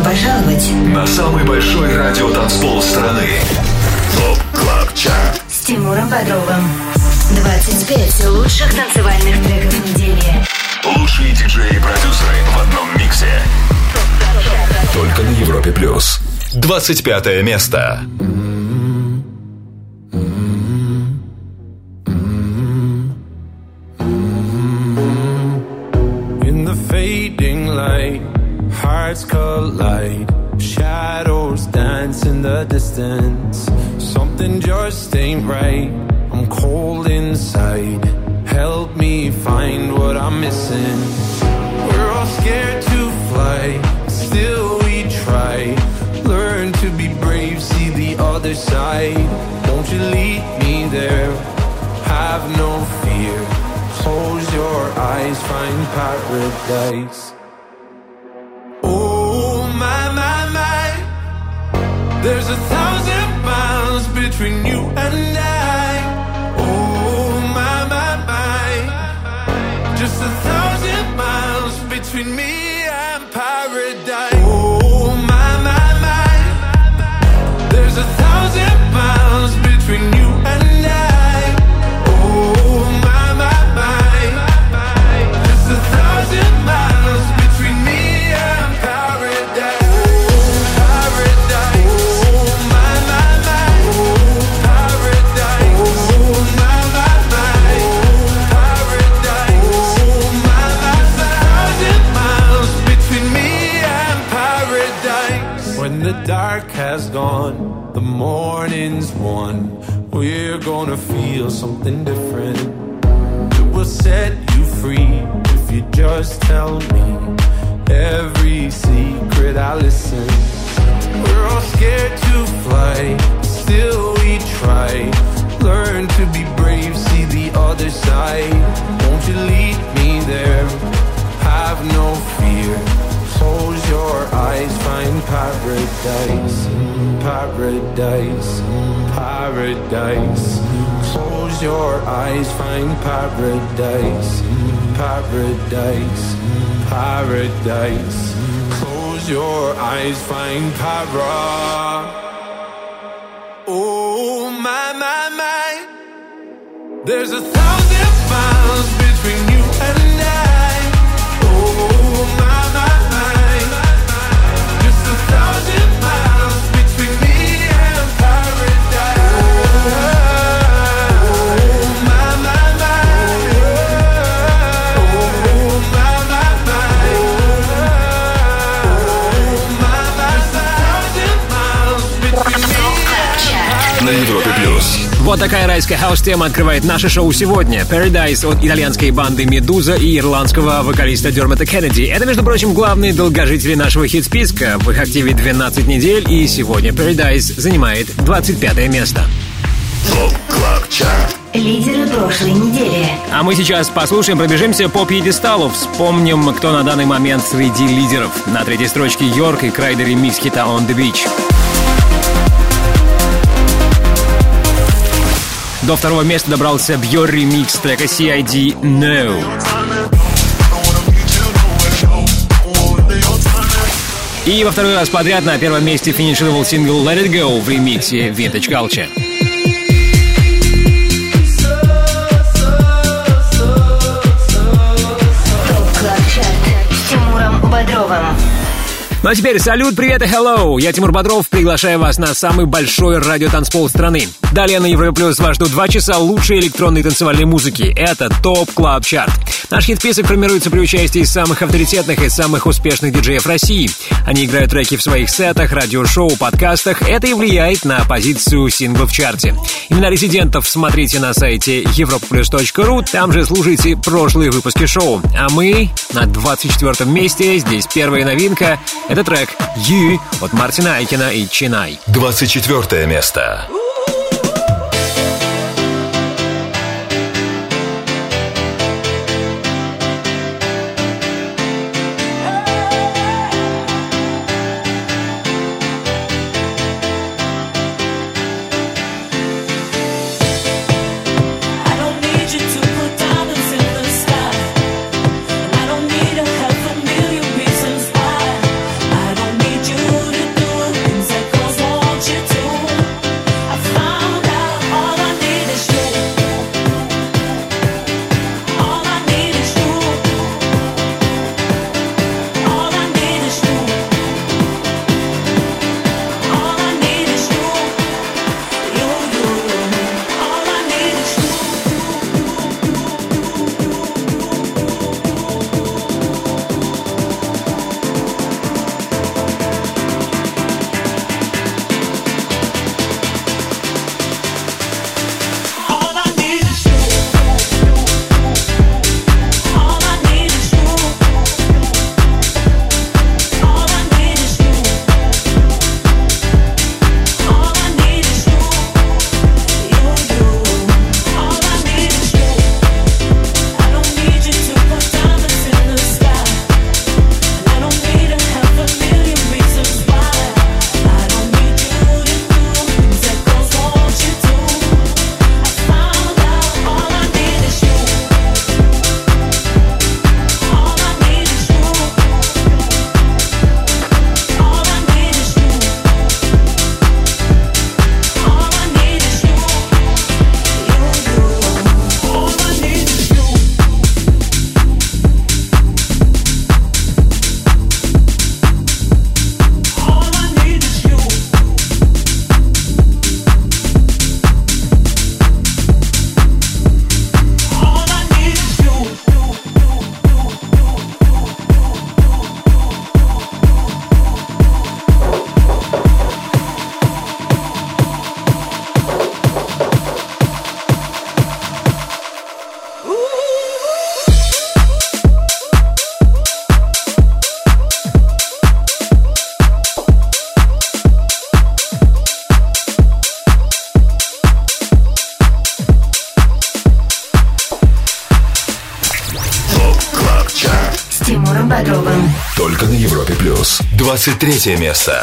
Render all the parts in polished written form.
пожаловать на самый большой радиотанцпол страны. ТОП КЛАБ ЧАРТ с Тимуром Бодровым. 25 лучших танцевальных треков недели. Лучшие диджеи и продюсеры в одном миксе. Только на Европе Плюс. 25 место. In the fading light, hearts collide. Shadows dance in the distance. Something just ain't right. I'm cold inside. Help me find what I'm missing. We're all scared to fly, still we try. Learn to be brave, see the other side. Won't you lead me there? Have no fear. Close your eyes, find paradise. Oh my, my, my. There's 1,000 miles between you and I. Oh my, my, my. Just 1,000 miles between me and paradise. Oh my, my, my. There's 1,000 miles between you and I. Oh my, my, my. Just 1,000 miles between me and paradise. Paradise. Oh my, my, my. Paradise. Oh my, my, my. Paradise. Oh my, my, my. 1,000 miles between me and paradise. When the dark has gone, the morning's won. We're gonna feel something different. It will set you free if you just tell me every secret. I listen. We're all scared to fly, still we try. Learn to be brave, see the other side. Won't you lead me there? Have no fear. Close your eyes, find paradise. Paradise. Paradise. Close your eyes, find paradise. Paradise. Paradise. Close your eyes, find para. Oh my, my, my. There's 1,000 miles between you and I. Oh my, my, my. Just 1,000 miles between me and paradise. Oh my, my, my. Oh my, my, my. Oh my, my, my. 1,000 miles between me and На Европе Плюс. Вот такая райская хаус-тема открывает наше шоу сегодня. Paradise от итальянской банды Медуза и ирландского вокалиста Дермота Кеннеди. Это, между прочим, главные долгожители нашего хит-списка. В их активе 12 недель, и сегодня Paradise занимает 25 место. ТОП КЛАБ ЧАРТ. Лидеры прошлой недели. А мы сейчас послушаем, пробежимся по пьедесталу. Вспомним, кто на данный момент среди лидеров. На третьей строчке Йорк и Крайдер ремикс хита On The Beach. До второго места добрался Бьор ремикс трека CID No. И во второй раз подряд на первом месте финишировал сингл Let It Go в ремиксе Vintage Culture. С Тимуром Бодровым. Ну а теперь салют, привет и hello! Я Тимур Бодров, приглашаю вас на самый большой радиотанцпол страны. Далее на Европе Плюс вас ждут 2 часа лучшей электронной танцевальной музыки. Это ТОП КЛАБ ЧАРТ. Наш хит-список формируется при участии самых авторитетных и самых успешных диджеев России. Они играют треки в своих сетах, радиошоу, подкастах. Это и влияет на позицию сингла в чарте. Имена резидентов смотрите на сайте europaplus.ru. Там же слушайте прошлые выпуски шоу. А мы на 24 месте. Здесь первая новинка. Это трек «You» от Мартина Айкина и Чинай. 24 место. You Тимуром Бодровым. Только на Европе плюс. 23 место.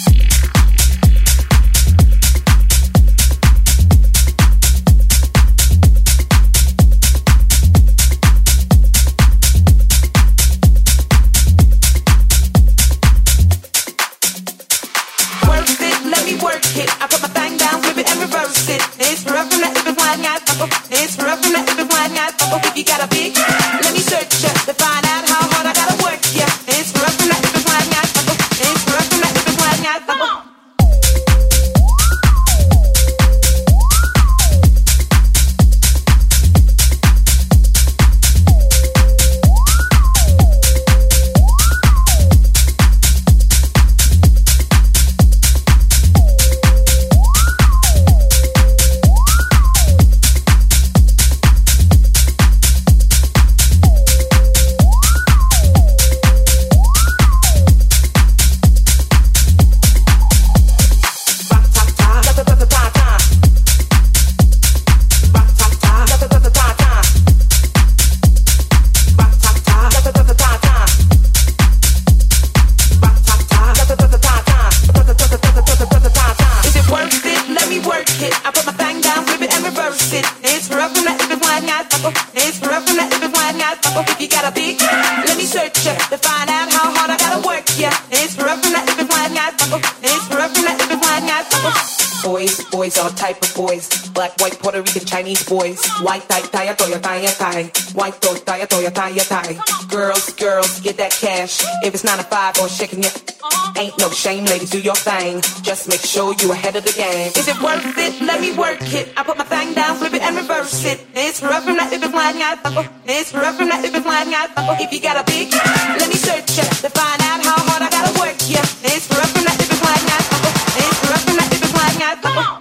Chinese boys, white tie, tie, toya, tie, tie, white tie, toya, tie, tie. Girls, get that cash. If it's 9 to 5 or shaking it, ain't no shame, ladies, do your thing. Just make sure you ahead of the game. Is it worth it? Let me work it. I put my thing down, flip it and reverse it. It's rough from that if it's flying out. It's rough from that if it's flying out. If you got a big, let me search it to find out how hard I gotta work. Yeah, it's rough from that if it's flying out. It's rough from that if it's flying out. Come on.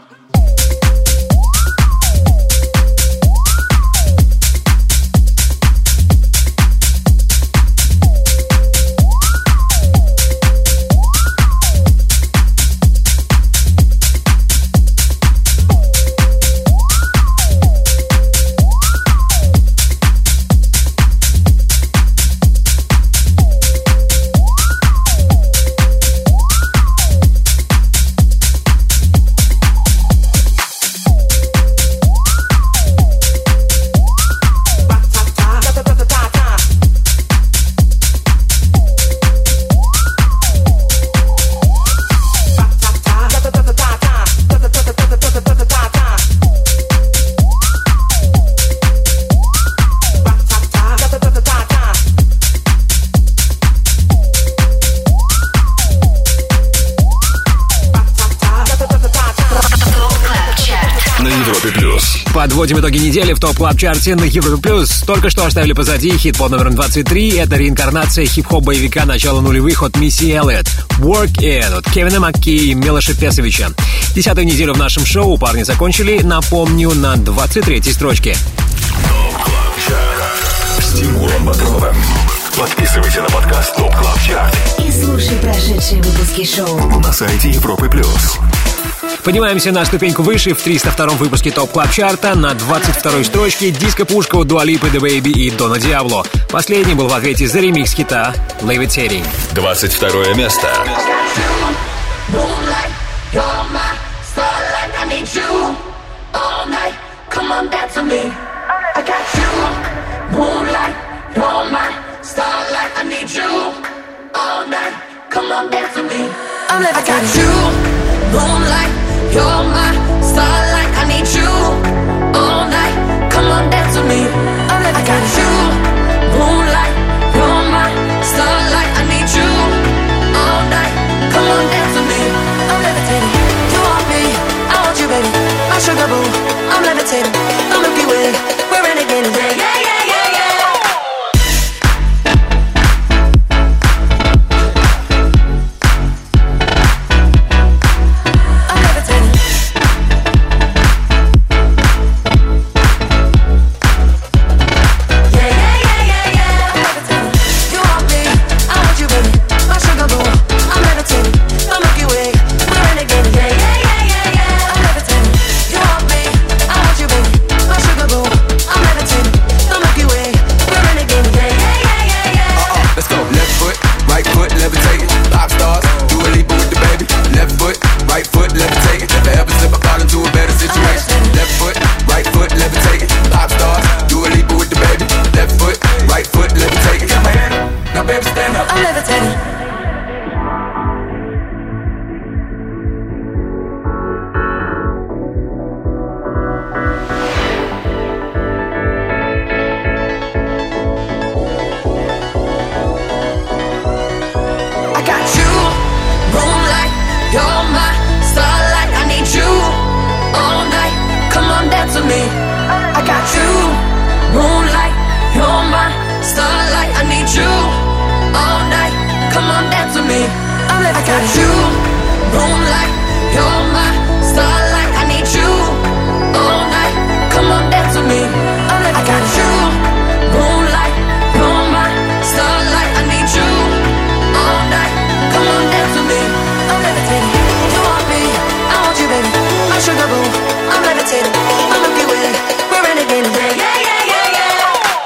Подводим итоги недели в ТОП Клаб Чарте на Европе Плюс. Только что оставили позади хит под номером 23. Это реинкарнация хип-хоп-боевика начала нулевых от Мисси Эллиот. Work It от Кевина Макки и Милоша Песовича. 10-ю неделю в нашем шоу парни закончили, напомню, на 23-й строчке. ТОП Клаб Чарт с Тимуром Бодровым. Подписывайся на подкаст ТОП Клаб Чарт И слушай прошедшие выпуски шоу на сайте Европы Плюс. Поднимаемся на ступеньку выше в 302-м выпуске ТОП Клаб Чарта. На 22-й строчке диско-пушка у Дуа Липы, The Baby и Дона Диабло. Последний был в ответе за ремикс хита Levitating. 22 место. Moonlight, you're my starlight. I need you all night. Come on, dance with me. I got you. Moonlight, you're my starlight. I need you all night. Come on, dance with me. I'm levitating. You want me, I want you, baby. My sugar boo, I'm levitating. The Milky Way, we're renegading. Yeah, yeah, yeah. Now baby stand up. I'm levitating. You're my starlight, I need you all night. Come on, dance with me. I got you, moonlight. You're my starlight, I need you all night. Come on, dance with me. I got you, moonlight. You're my starlight, I need you all night. Come on, dance with me. I got you, moonlight. You're my starlight, I need you all night. Come on, dance with me. You want me, I want you, baby. My sugar boo, I'm levitating. My Milky Way, we're renegading. Yeah, yeah, yeah, yeah, yeah.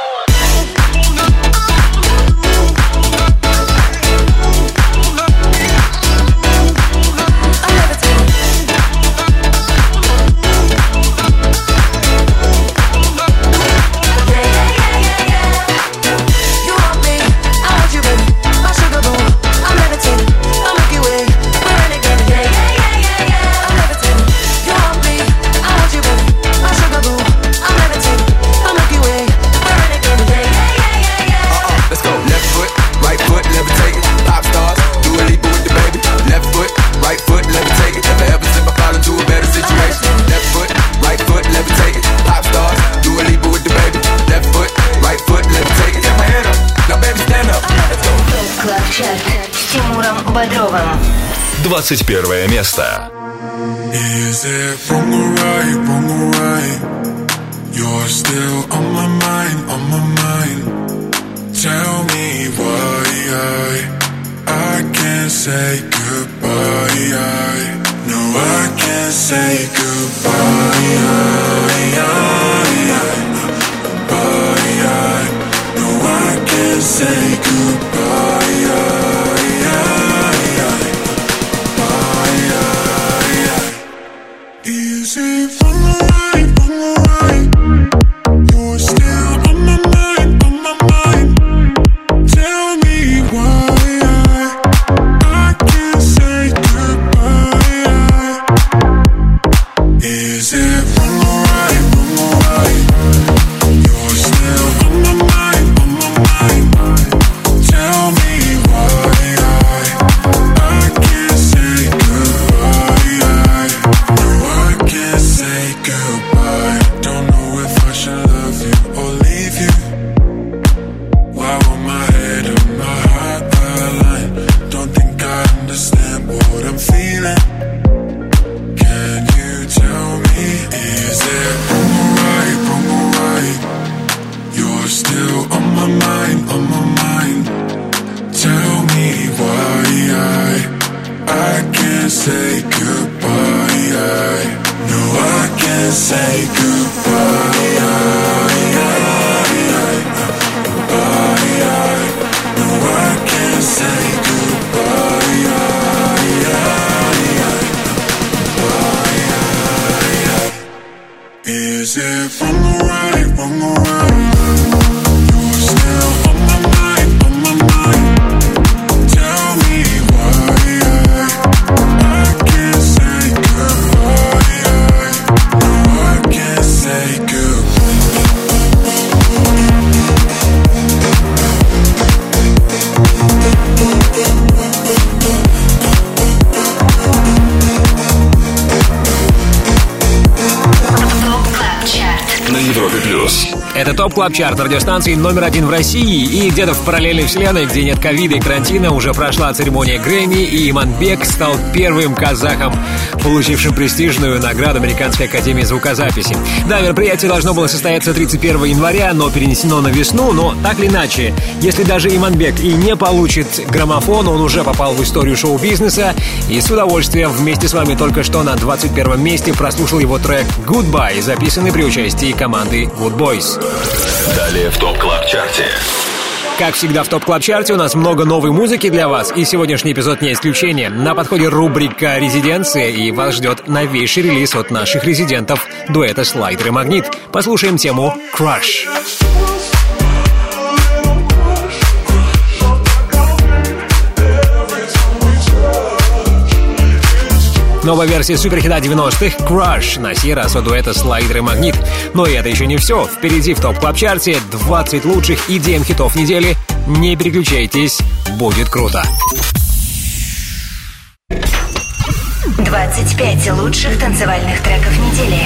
I'm levitating. Yeah, yeah, yeah, yeah, yeah. You want me, I want you, baby. My sugar boo, I'm levitating. My Milky Way. С Тимуром Бодровым. 21 место. Is it wrong or right, wrong or right? You're still on my mind, on my mind. Tell me why I can't say goodbye. No, I can't say goodbye. No, I can't say goodbye. Is it wrong or right, wrong or right? You're still on my mind, on my mind. Tell me why I can't say goodbye. Is it wrong or right, wrong or right? You're still on my mind, on my mind. Tell me why I can't say goodbye. No, I can't say goodbye. Don't know if I should love you or leave you. Why won't my head and my heart align? Don't think I understand what I'm feeling. Can you tell me? Is it wrong or right, wrong or right? You're still on my mind, on my mind. Tell me why I can't say goodbye. No, I can't say goodbye. No, I can't say goodbye. Is it wrong or right, wrong or right? You're still on my mind, on my mind. Tell me why I can't say goodbye. No, I can't say goodbye. На Европе плюс. Это ТОП Клаб Чарт радиостанции номер 1 в России. И где-то в параллельной вселенной, где нет ковида и карантина, уже прошла церемония Грэмми, и Иманбек стал первым казахом, получившим престижную награду Американской академии звукозаписи. Да, мероприятие должно было состояться 31 января, но перенесено на весну. Но так или иначе, если даже Иманбек и не получит граммофон, он уже попал в историю шоу-бизнеса. И с удовольствием вместе с вами только что на 21 месте прослушал его трек «Goodbye», записанный при участии команды Good Boys. Далее в ТОП Клаб Чарте. Как всегда в ТОП Клаб Чарте у нас много новой музыки для вас, и сегодняшний эпизод не исключение. На подходе рубрика «Резиденция», и вас ждет новейший релиз от наших резидентов дуэта «Слайдер» и «Магнит». Послушаем тему «Crush». Новая версия суперхита 90-х «Crush», на сей раз от дуэта «Слайдер» и «Магнит». Но и это еще не все. Впереди в топ-клаб-чарте 20 лучших EDM-хитов недели. Не переключайтесь, будет круто. 25 лучших танцевальных треков недели.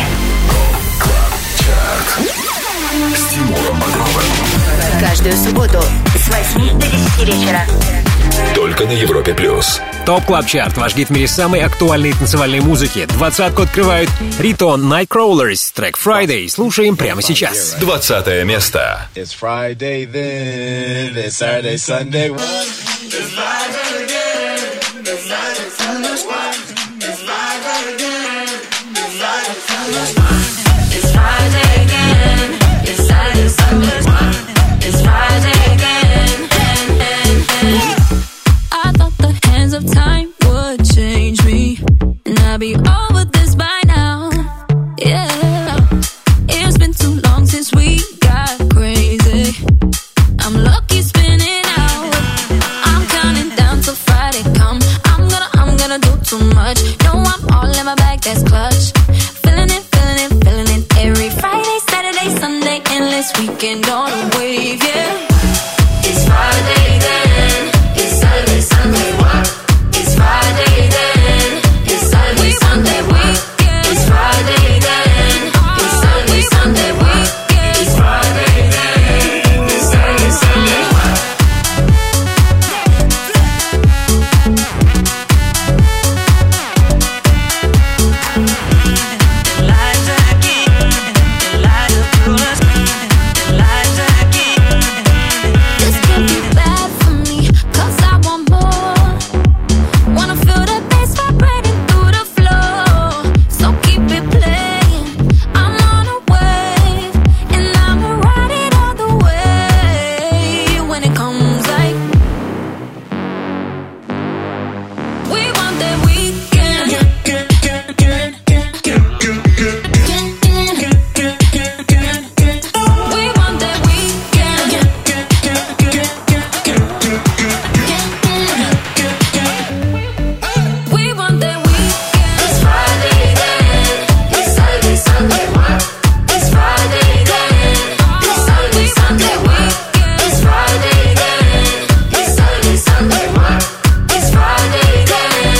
С Тимуром Бодровым. Каждую субботу с 8 до 10 вечера. Только на Европе+. ТОП Клаб Чарт, ваш гид в мире самой актуальной танцевальной музыки. 20-ку открывают Rito Nightcrawlers, трек Friday. Слушаем прямо сейчас. 20 место. It's Friday then, it's Saturday, Sunday. It's Friday again, it's Saturday, Sunday. It's Friday again, it's Saturday, Sunday. It's Friday again, it's Saturday, Sunday. It's Friday again, I thought the hands of time would change me, and I'd be over this by now. Yeah, it's been too long since we got crazy. I'm lucky spinning out. I'm counting down till Friday come. I'm gonna do too much. No, I'm all in my bag, that's clutch. Feeling it, feeling it, feeling it. Every Friday, Saturday, Sunday, endless weekend on a wave, yeah. It's Friday then. It's Saturday, Sunday, what? It's Friday then. It's Saturday, Sunday, what? It's Friday then. It's Saturday, Sunday, what? It's Friday then. It's Saturday, Sunday, what? This can't be bad for me, 'cause I want more. Wanna feel the bass vibrating through the floor. So keep it playing. I'm on a wave, and I'ma ride it all the way. When it comes like we want that weekend. We want that weekend. We want that weekend. It's Friday then. It's Saturday, Sunday, what? It's Friday then. It's Saturday, Sunday, what? It's Friday then. It's Saturday, Sunday, what? It's Friday then.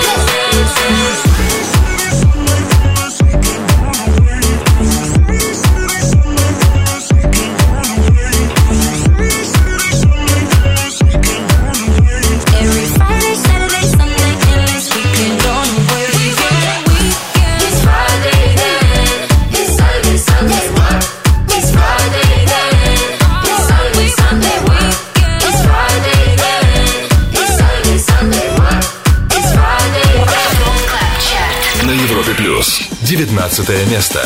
Every Friday, Saturday, Sunday, endless weekend on the way. It's Friday then. It's Saturday, Sunday, what? It's Friday then. It's Saturday, Sunday, what? It's Friday then. It's Saturday, Sunday, what? It's Friday then. На Европе+. 19 место.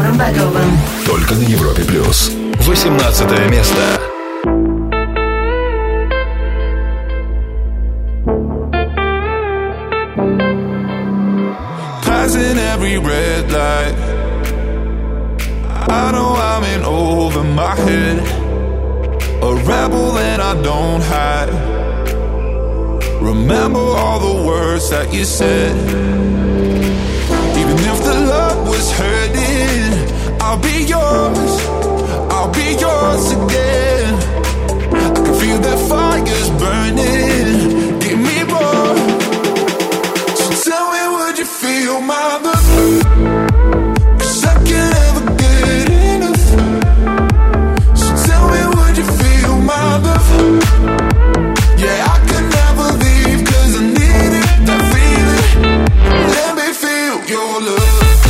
Тимуром Бодровым. Только на Европе+. 18 место. Passing every red light, I know I'm in over my head, a rebel and I don't hide. Remember all the words that you said. Even if the love was hurting, I'll be yours again. I can feel that fire's burning, give me more. So tell me, would you feel my love? 'Cause I can't ever get enough. So tell me, would you feel my love? Yeah, I can never leave 'cause I need it, that feeling. Let me feel your love.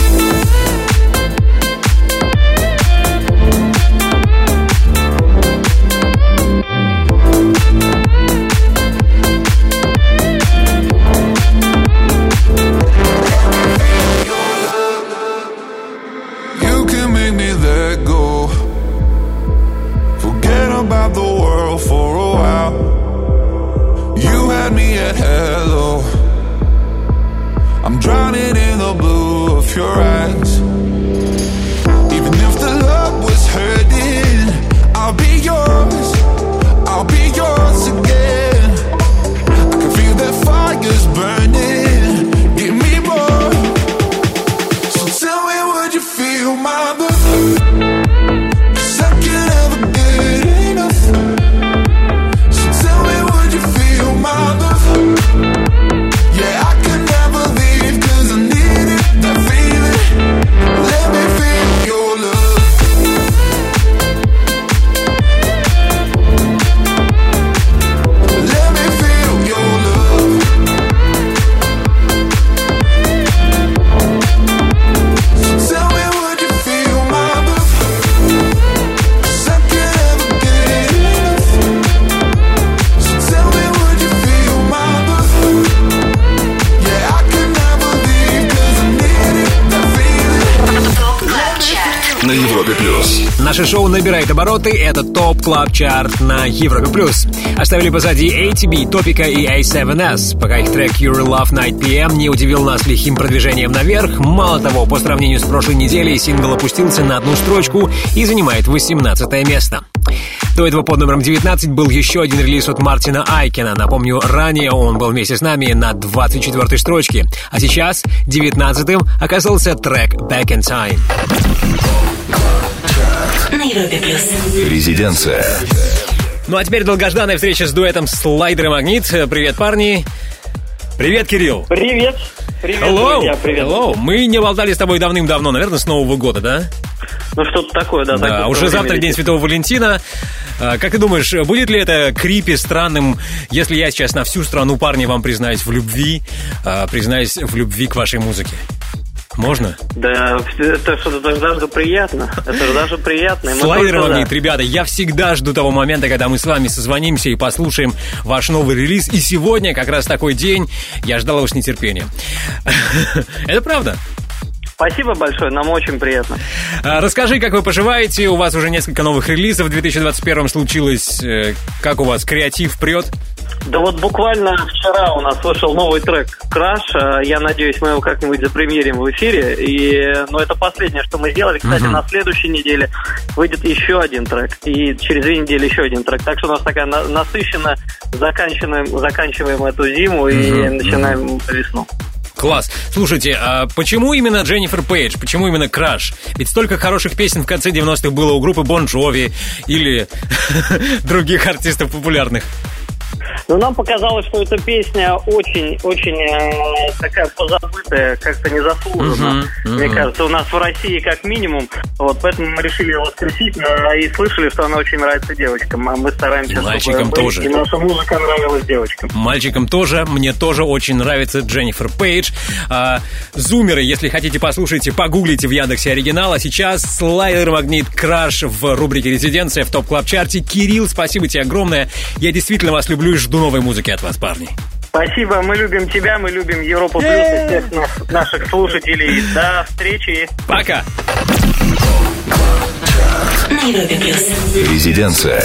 About the world for a while. You had me at hello. I'm drowning in the blue of your eyes. Even if the love was hurting, I'll be yours again. I can feel that fire's burning, give me more. So tell me, would you feel my love? На Европе+. Наше шоу набирает обороты. Это ТОП Клаб Чарт на Европе+. Оставили позади ATB, Топика и A7S. Пока их трек Your Love Night PM не удивил нас лихим продвижением наверх. Мало того, по сравнению с прошлой неделей, сингл опустился на одну строчку и занимает 18 место. До этого под номером 19 был еще один релиз от Мартина Айкена. Напомню, ранее он был вместе с нами на 24-й строчке. А сейчас 19-м оказался трек Back in Time. На Европе Плюс. Резиденция. Ну а теперь долгожданная встреча с дуэтом Слайдер и Магнит. Привет, парни. Привет, Кирилл. Привет. Привет, Hello. друзья, привет. Hello. Мы не болтали с тобой давным-давно, наверное, с Нового года, да? Ну, что-то такое, да. Да, уже завтра День Святого Валентина. Как ты думаешь, будет ли это крипи странным, если я сейчас на всю страну, парни, вам признаюсь в любви к вашей музыке? Можно? Да, это что-то даже приятно. Это же даже приятно. Слайдер Магнит, ребята, я всегда жду того момента, когда мы с вами созвонимся и послушаем ваш новый релиз. И сегодня как раз такой день. Я ждал его с нетерпением. Это правда? Спасибо большое, нам очень приятно. Расскажи, как вы поживаете. У вас уже несколько новых релизов в 2021 случилось. Как у вас креатив прет? Да вот буквально вчера у нас вышел новый трек «Краш». Я надеюсь, мы его как-нибудь запремьерим в эфире. Но это последнее, что мы сделали. Кстати, на следующей неделе выйдет еще один трек. И через 2 недели еще один трек. Так что у нас такая насыщенно заканчиваем эту зиму и начинаем весну. Класс. Слушайте, а почему именно Дженнифер Пейдж? Почему именно «Краш»? Ведь столько хороших песен в конце 90-х было у группы Бон Джови или других артистов популярных. Но нам показалось, что эта песня очень такая позабытая, как-то незаслуженно. Мне кажется, у нас в России как минимум. Вот, поэтому мы решили ее воскресить и слышали, что она очень нравится девочкам. А мы стараемся, мальчикам тоже. И наша музыка нравилась девочкам. Мальчикам тоже. Мне тоже очень нравится Дженнифер Пейдж. Зумеры, если хотите, послушайте, погуглите в Яндексе оригинал. А сейчас Слайдер Магнит «Краш» в рубрике «Резиденция» в ТОП Клаб Чарте. Кирилл, спасибо тебе огромное. Я действительно вас люблю и жду новой музыки от вас, парни. Спасибо, мы любим тебя, мы любим Европу Плюс и всех наших слушателей. До встречи. Пока. На Европе плюс. Резиденция.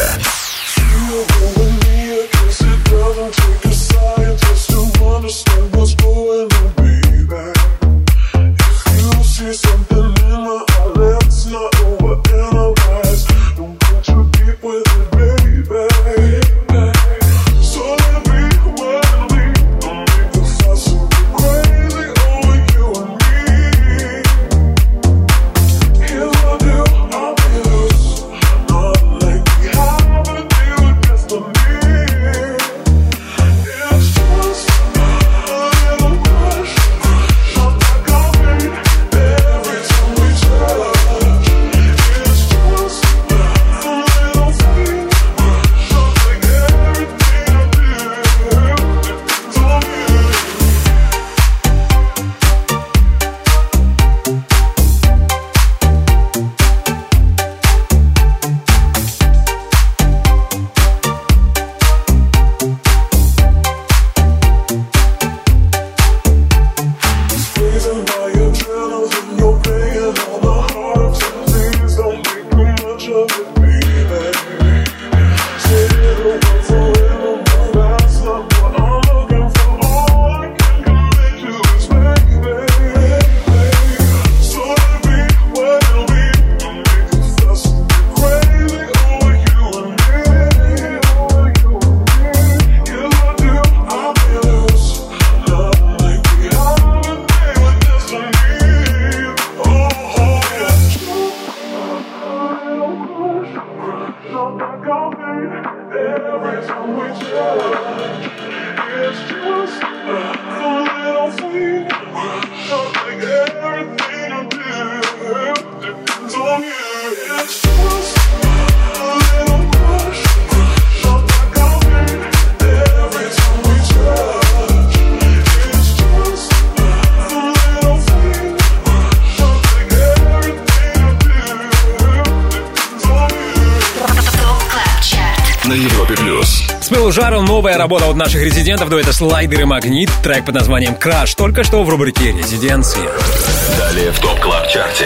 Жару новая работа от наших резидентов, дуэта «Слайдер» и «Магнит». Трек под названием «Краш» только что в рубрике «Резиденции». Далее в ТОП Клаб Чарте.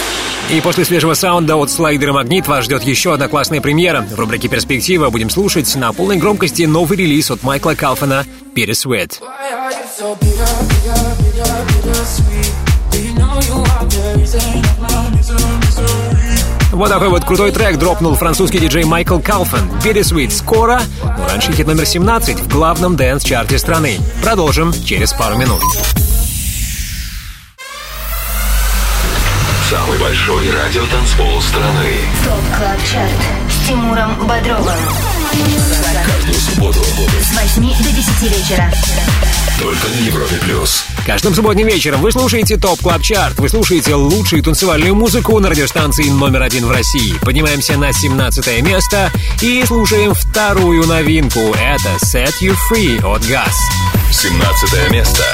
И после свежего саунда от «Слайдер» и «Магнит» вас ждет еще одна классная премьера. В рубрике «Перспектива» будем слушать на полной громкости новый релиз от Майкла Калфана «Bittersweet». Вот такой вот крутой трек дропнул французский диджей Майкл Калфан. «Bittersweet» скоро, но раньше хит номер 17 в главном дэнс-чарте страны. Продолжим через пару минут. Самый большой радиотанцпол страны. ТОП Клаб Чарт с Тимуром Бодровым. Каждую субботу С 8 до 10 вечера. только на Европе плюс. Каждым субботним вечером вы слушаете ТОП Клаб Чарт. Вы слушаете лучшую танцевальную музыку на радиостанции номер 1 в России. Поднимаемся на 17 место и слушаем вторую новинку. Это «Set You Free» от Gas. 17 место.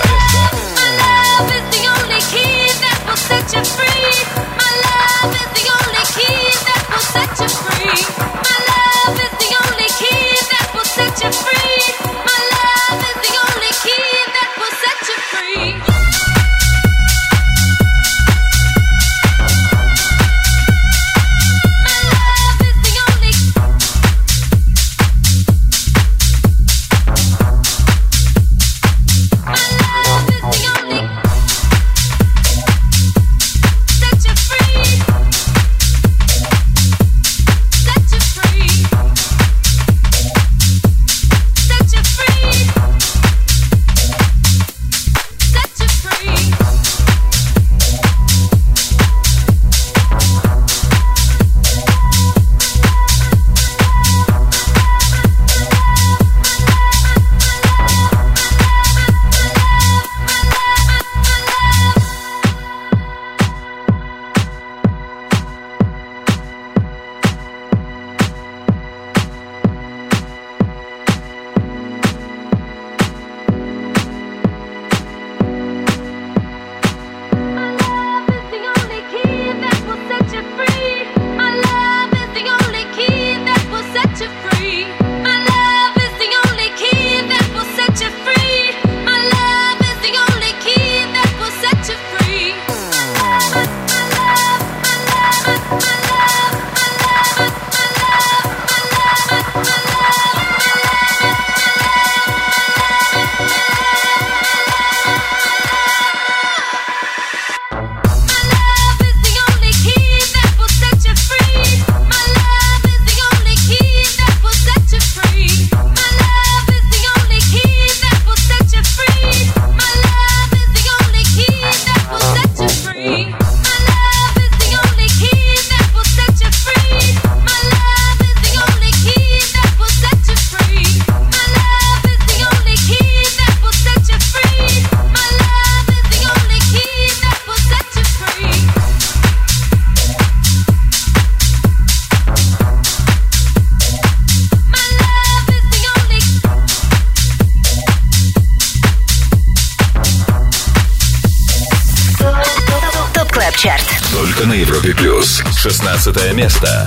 Чарт. Только на Европе плюс. 16 место.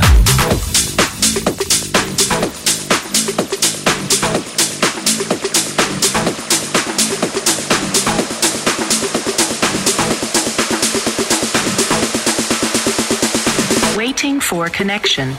Waiting for connection.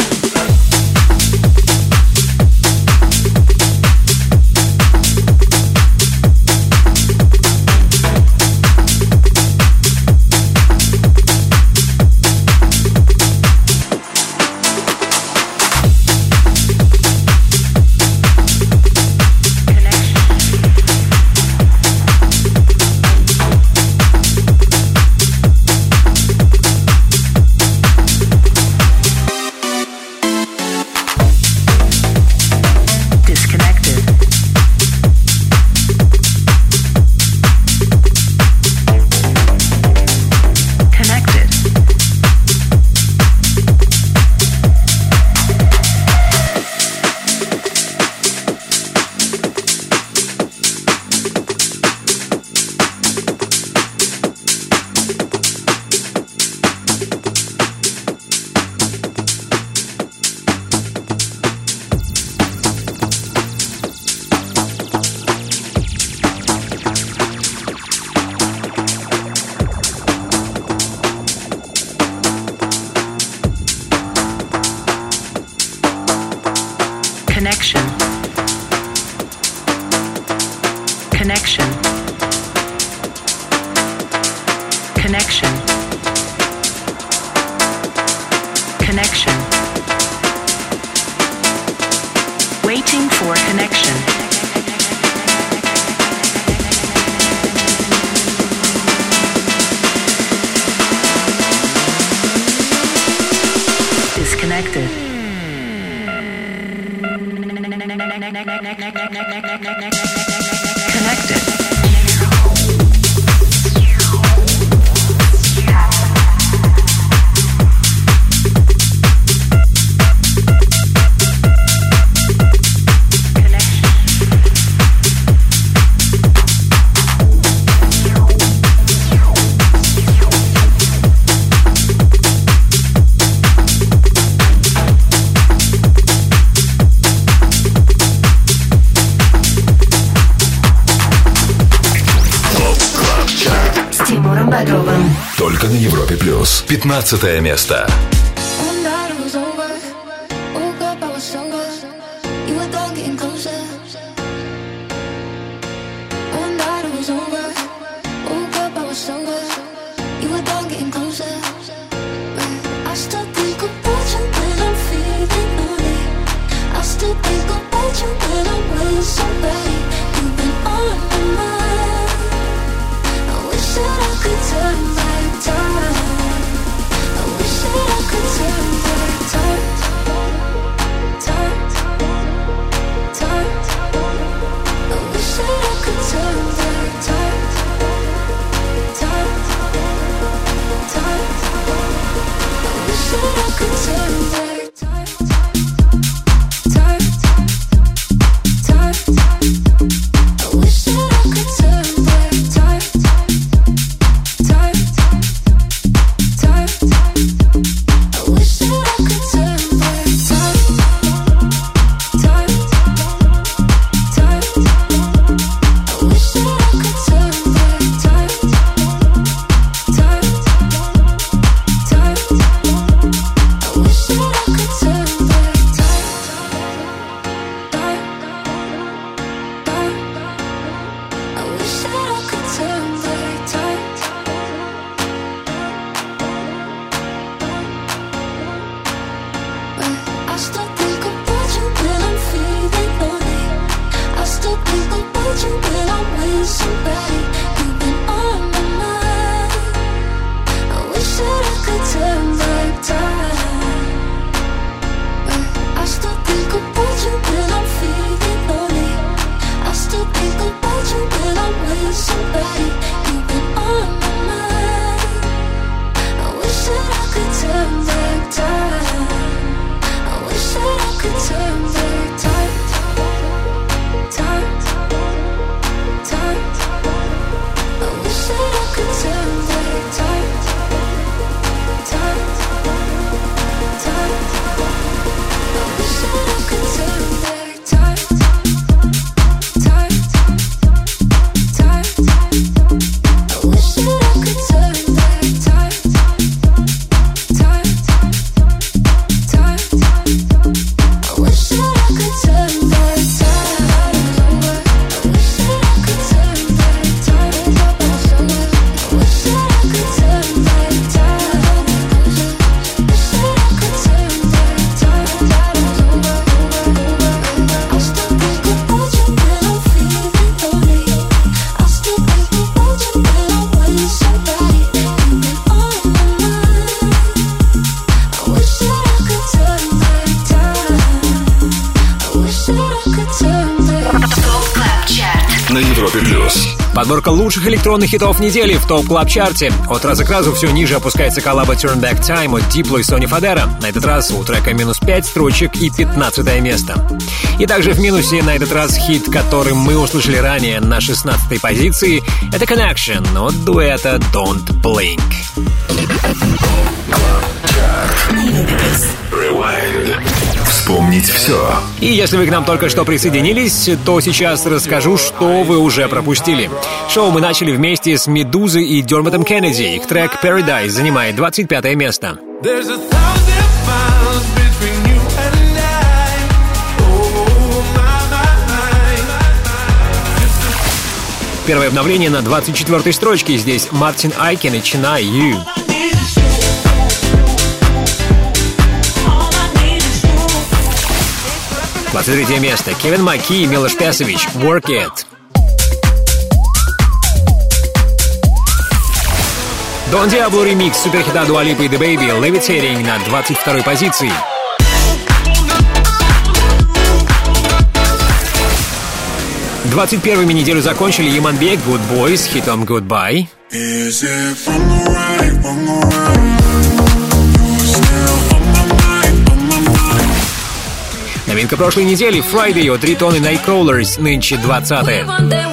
Только на Европе плюс. 15 место. Подборка лучших электронных хитов недели в ТОП Клаб Чарте. От раза к разу все ниже опускается коллаба Turn Back Time от Diplo и Sonny Fodera. На этот раз у трека минус 5 строчек и 15 место. И также в минусе на этот раз хит, который мы услышали ранее на 16-й позиции. Это Connection от дуэта Don't Blink. Rewind. Вспомнить все. И если вы к нам только что присоединились, то сейчас расскажу, что вы уже пропустили. Шоу мы начали вместе с Медузой и Дермотом Кеннеди. Их трек Paradise занимает 25 место. Первое обновление на 24-й строчке. Здесь Мартин Айкен и Chennai You. 23 место. Кевин Маки и Милош Песович. Work It. Дон Диабло ремикс суперхита Дуа Липы и The Baby Levitating на 22-й позиции. Двадцать первыми неделю закончили Яманбек Good Boy с хитом Goodbye. Новинка прошлой недели Friday от Riton и Nightcrawlers, нынче 20-е.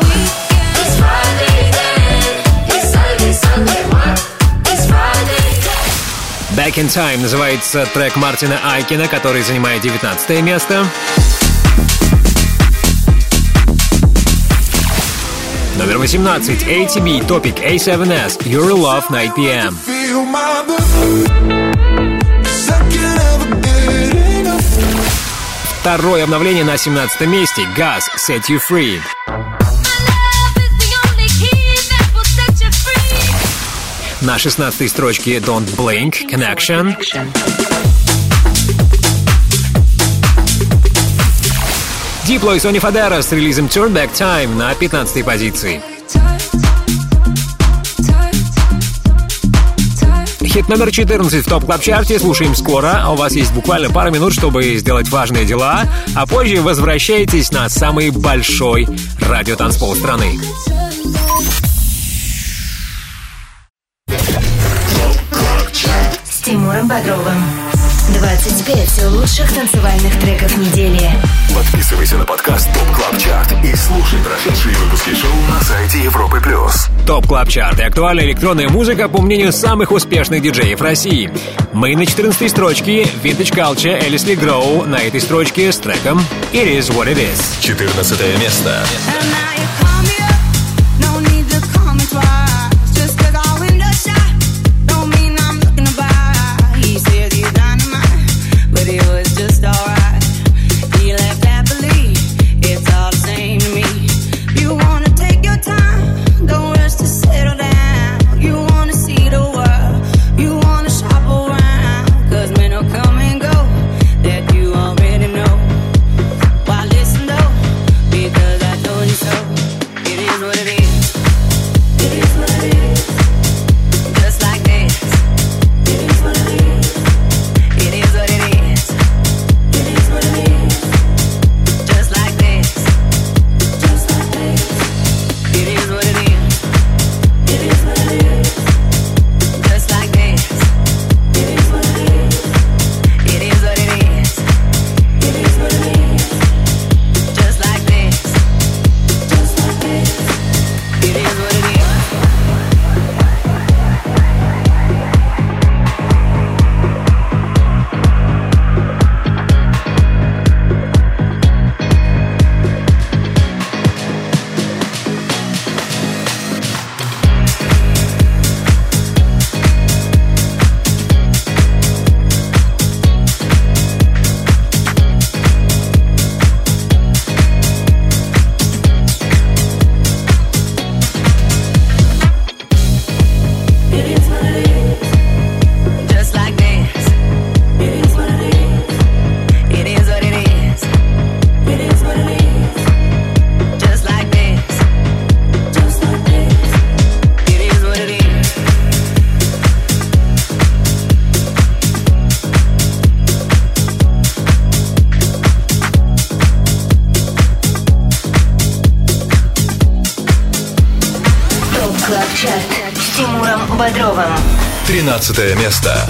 Back in Time называется трек Мартина Айкена, который занимает 19 место. Номер 18. ATB Topic A7S Your Love 9 PM. Второе обновление на 17 месте. Gas Set You Free. На 16-й строчке Don't Blink Connection. Diplo и Sonny Fodera с релизом Turn Back Time на 15-й позиции. Хит номер 14 в ТОП Клаб Чарте слушаем скоро, а у вас есть буквально пару минут, чтобы сделать важные дела, а позже возвращайтесь на самый большой радиотанцпол страны. С Тимуром Бодровым. 25 лучших танцевальных треков недели. Подписывайся на подкаст ТОП Клаб Чарт и слушай прошедшие выпуски шоу на сайте Европы+. ТОП Клаб Чарт и актуальная электронная музыка по мнению самых успешных диджеев России. Мы на 14-й строчке Vintage Culture Элисли Гроу на этой строчке с треком It Is What It Is. 14 место. So 13 место.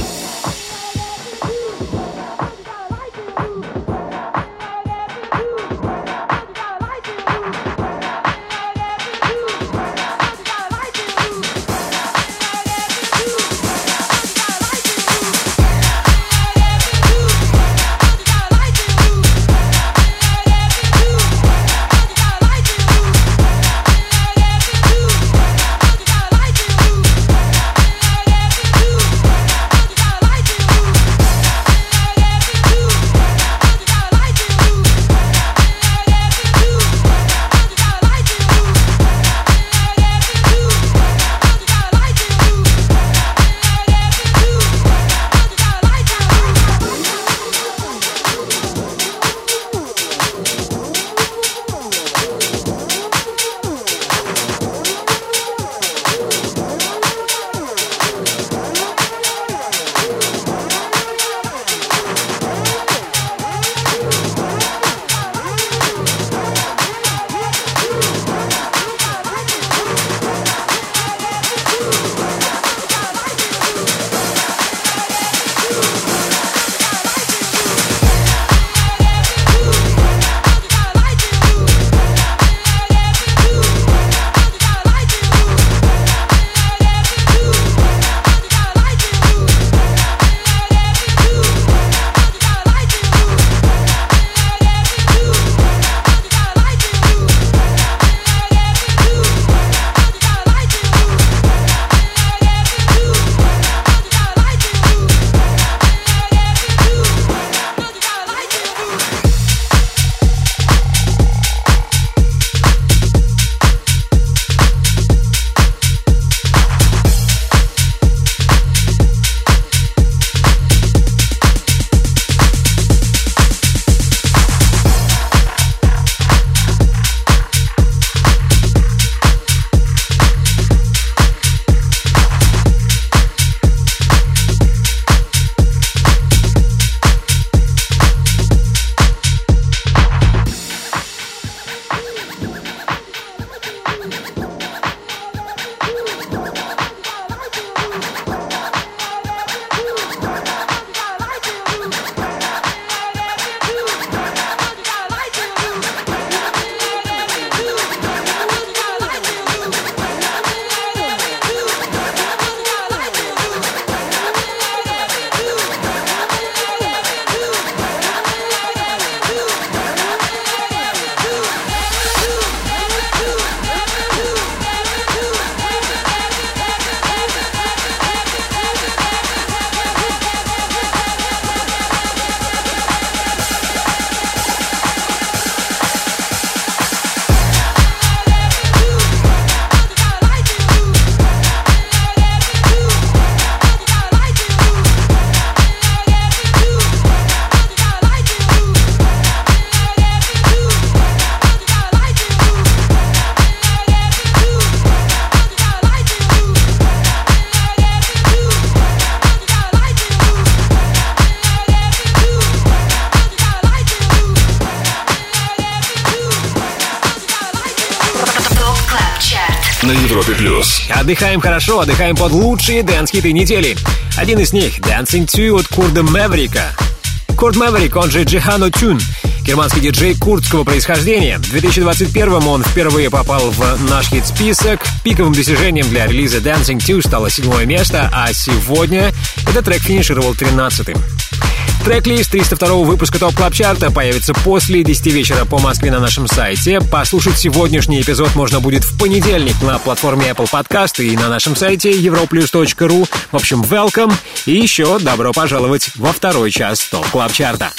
на Европе+. Отдыхаем хорошо, отдыхаем под лучшие дэнс-хиты недели. Один из них — Dancing 2 от Курда Мэверика. Курт Мэверик, он же Джихано Тюн, германский диджей курдского происхождения. В 2021-м он впервые попал в наш хит-список. Пиковым достижением для релиза Dancing 2 стало 7-е место, а сегодня этот трек финишировал 13-м. Трек-лист 302-го выпуска ТОП Клаб Чарта появится после 10 вечера по Москве на нашем сайте. Послушать сегодняшний эпизод можно будет в понедельник на платформе Apple Podcast и на нашем сайте europlus.ru. В общем, welcome и еще добро пожаловать во второй час ТОП Клаб Чарта.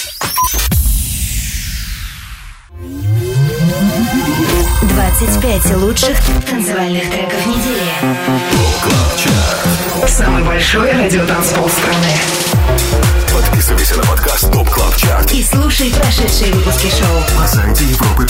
25 лучших танцевальных треков недели. ТОП Клаб Чарт. Самый большой радиотанцпол страны. Подписывайся на подкаст ТОП Клаб Чарт И слушай прошедшие выпуски шоу на сайте Европы+.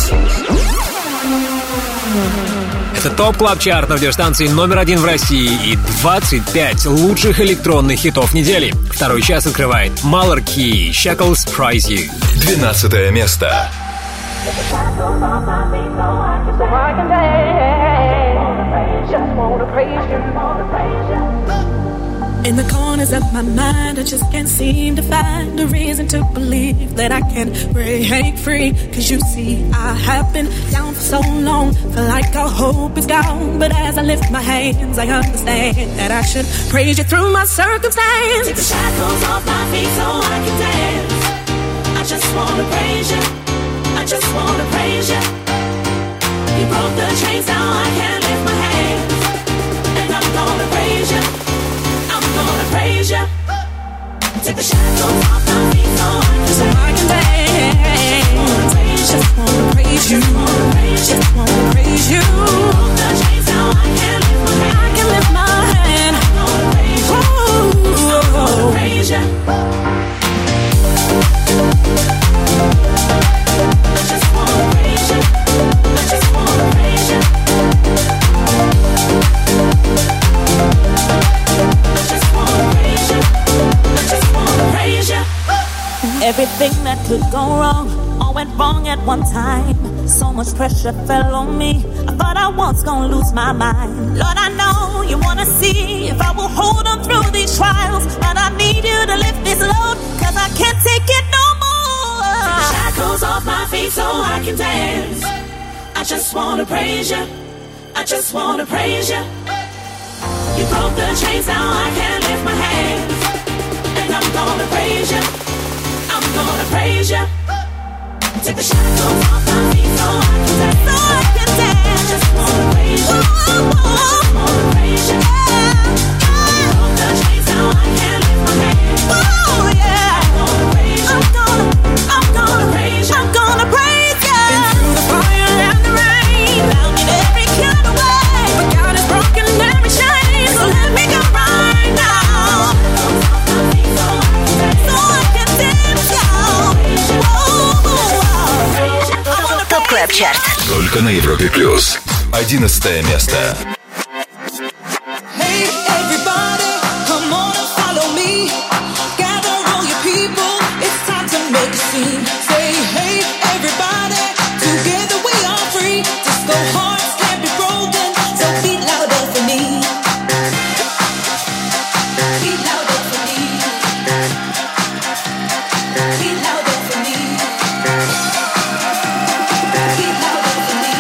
Это ТОП Клаб Чарт на радиостанции номер 1 в России и 25 лучших электронных хитов недели. Второй час открывает Malarkey, Shackles Prize You. 12 место. Just wanna praise you. 9 Just wanna praise you. In the corners of my mind, I just can't seem to find a reason to believe that I can break free. Cause you see, I have been down for so long, feel like all hope is gone. But as I lift my hands, I understand that I should praise you through my circumstance. Take the shackles off my feet so I can dance. I just wanna praise you, I just wanna praise you. You broke the chains, now I can lift my hands. And I'm gonna praise you, I'm gonna praise you. Take the shackles off my feet so I can dance. Just wanna praise you, just wanna praise you. You broke the chains, now I can lift my hands. I can lift my hand. I'm gonna praise you, I'm gonna praise you. I just wanna praise you, I just wanna praise you. I just wanna praise you, I just wanna praise you. Everything that could go wrong all went wrong at one time. So much pressure fell on me, I thought I was gonna lose my mind. Lord, I know you wanna see if I will hold on through these trials, but I need you to lift this load, cause I can't take it no more. Take the shackles off my feet so I can dance. I just wanna praise you, I just wanna praise you. You broke the chains, now I can lift my hands. And I'm gonna praise you, I'm gonna praise you. Take the shackles off my feet so I can dance. I just wanna praise you, I just wanna praise you. You broke the chains, now I can lift my hands. Oh yeah, I'm gonna praise you, I'm gonna praise you, I'm gonna praise you. Been through the fire and the rain, Found in every kind of way, but God has broken every chain. so let me go right now, so I can dance, y'all. ТОП КЛАБ ЧАРТ. Только на Европе плюс. 11 место. Hey everybody, come on and follow me. Gather all your people, it's time to make a scene. Say hey everybody, together we are free. Disco hearts can't be broken, so beat louder for me. Beat louder for me. Beat louder for me. Beat louder for me.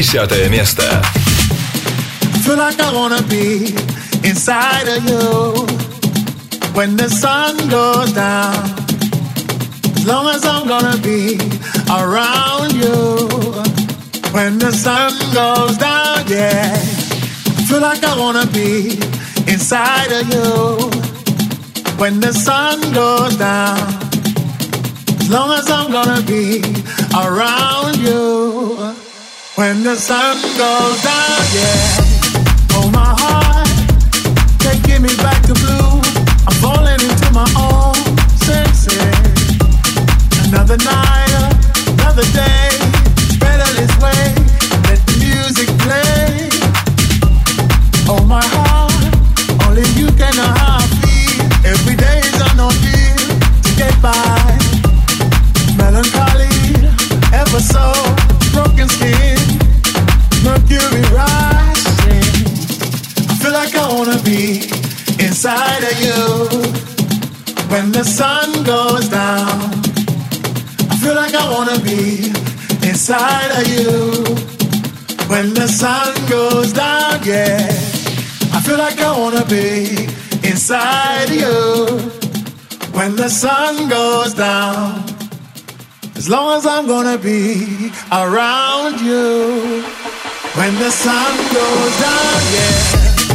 10 место. Feel like I wanna be inside of you when the sun goes down. As long as I'm gonna be around you when the sun goes down, yeah. Feel like I wanna be inside of you when the sun goes down. As long as I'm gonna be around you when the sun goes down, yeah. Oh, my heart can't get me back to blue. I'm falling into my own senses. Another night, another day. It's better this way. Let the music play. Oh, my heart, only you can know how I feel. Every day is an ordeal to get by. Melancholy, ever so broken skin, mercury rising. I feel like I wanna be inside of you when the sun goes down. I feel like I wanna be inside of you when the sun goes down, yeah. I feel like I wanna be inside of you when the sun goes down. As long as I'm gonna be around you when the sun goes down, yeah.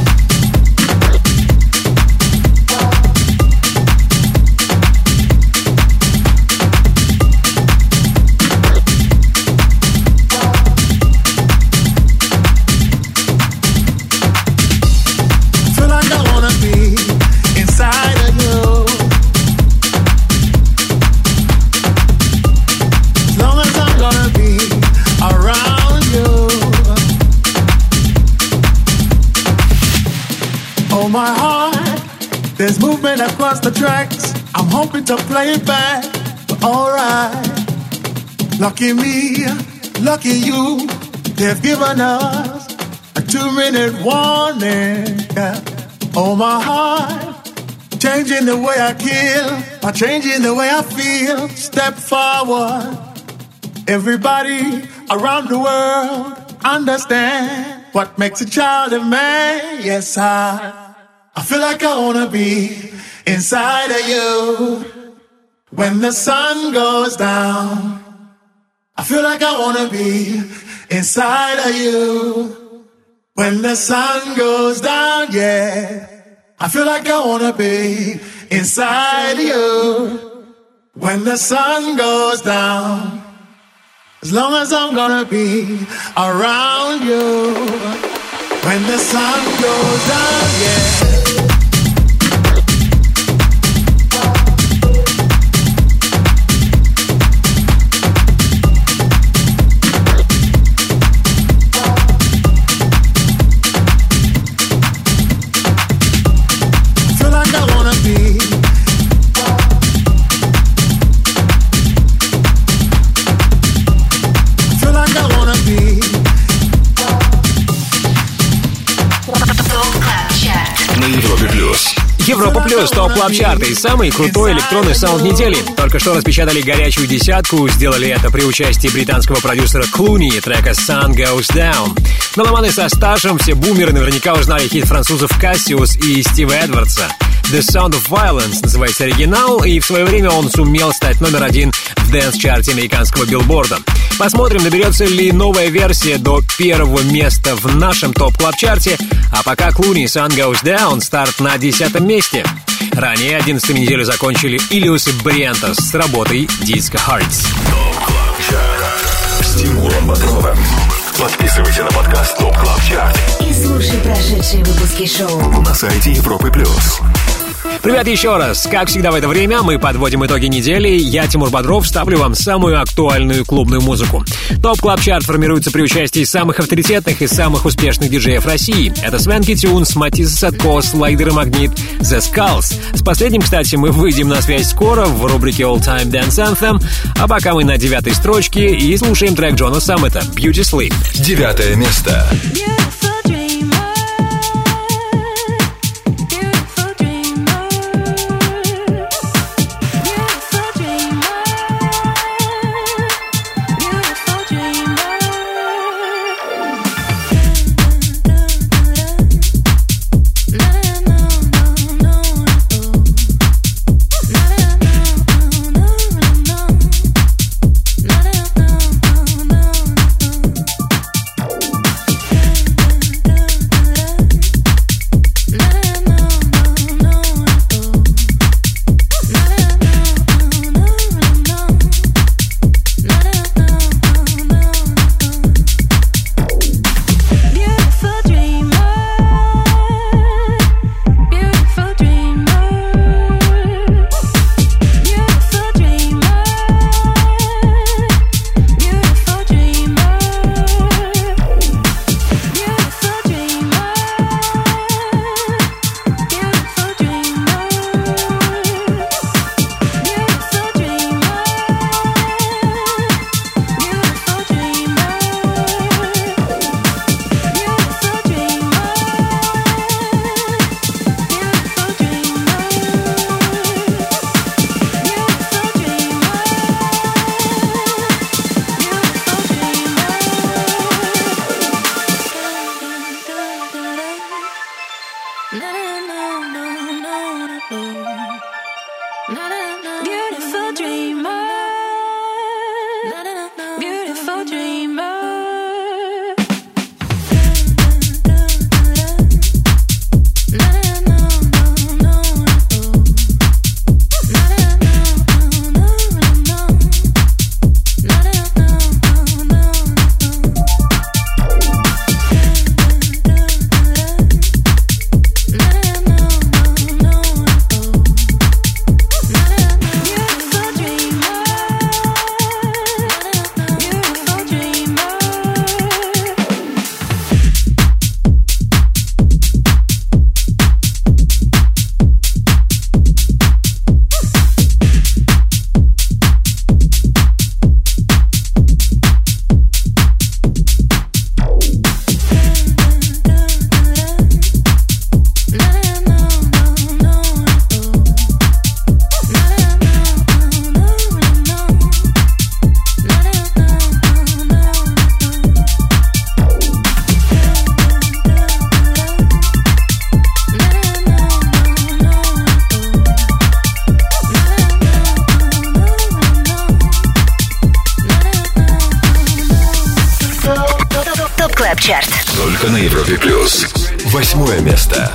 Feel like I wanna be inside of you. As long as I'm gonna be around you. Oh, my heart, there's movement across the tracks. I'm hoping to play it back, but alright. Lucky me, lucky you, they've given us a 2-minute warning. Yeah. Oh, my heart, changing the way I kill, by changing the way I feel. Step forward. Everybody around the world understand what makes a child a man. Yes, I feel like I wanna be inside of you when the sun goes down. I feel like I wanna be inside of you when the sun goes down, yeah. I feel like I wanna be inside of you when the sun goes down. As long as I'm gonna be around you when the sun goes down, yeah. Европа Плюс, топ клаб чарты и самый крутой электронный саунд недели. Только что распечатали горячую десятку, сделали это при участии британского продюсера Клуни и трека Sun Goes Down. Меломаны со стажем, все бумеры наверняка узнали хит французов Cassius и Стива Эдвардса. The Sound of Violence называется оригинал, и в свое время он сумел стать номер 1 в дэнс-чарте американского билборда. Посмотрим, доберется ли новая версия до первого места в нашем топ-клаб-чарте, а пока Клуни и Sun Goes Down, старт на 10 месте. Ранее 11-ю неделю закончили Ilius и Бриентос с работой Disco Hearts. С Тимуром Бодровым. Подписывайся на подкаст Топ Клаб Чарт и слушай прошедшие выпуски шоу на сайте Европы Плюс. Привет еще раз. Как всегда в это время мы подводим итоги недели. Я, Тимур Бодров, ставлю вам самую актуальную клубную музыку. Топ Клаб Чарт формируется при участии самых авторитетных и самых успешных диджеев России. Это Свенки Тюнс, Матис Садко, Слайдер и Магнит, The Skulls. С последним, кстати, мы выйдем на связь скоро в рубрике All Time Dance Anthem. А пока мы на 9-й строчке и слушаем трек Джона Саммета «Beauty Sleep». 9 место. Beautiful dreamer. Beautiful dreamer. Чарт. Только на Европе плюс. 8 место.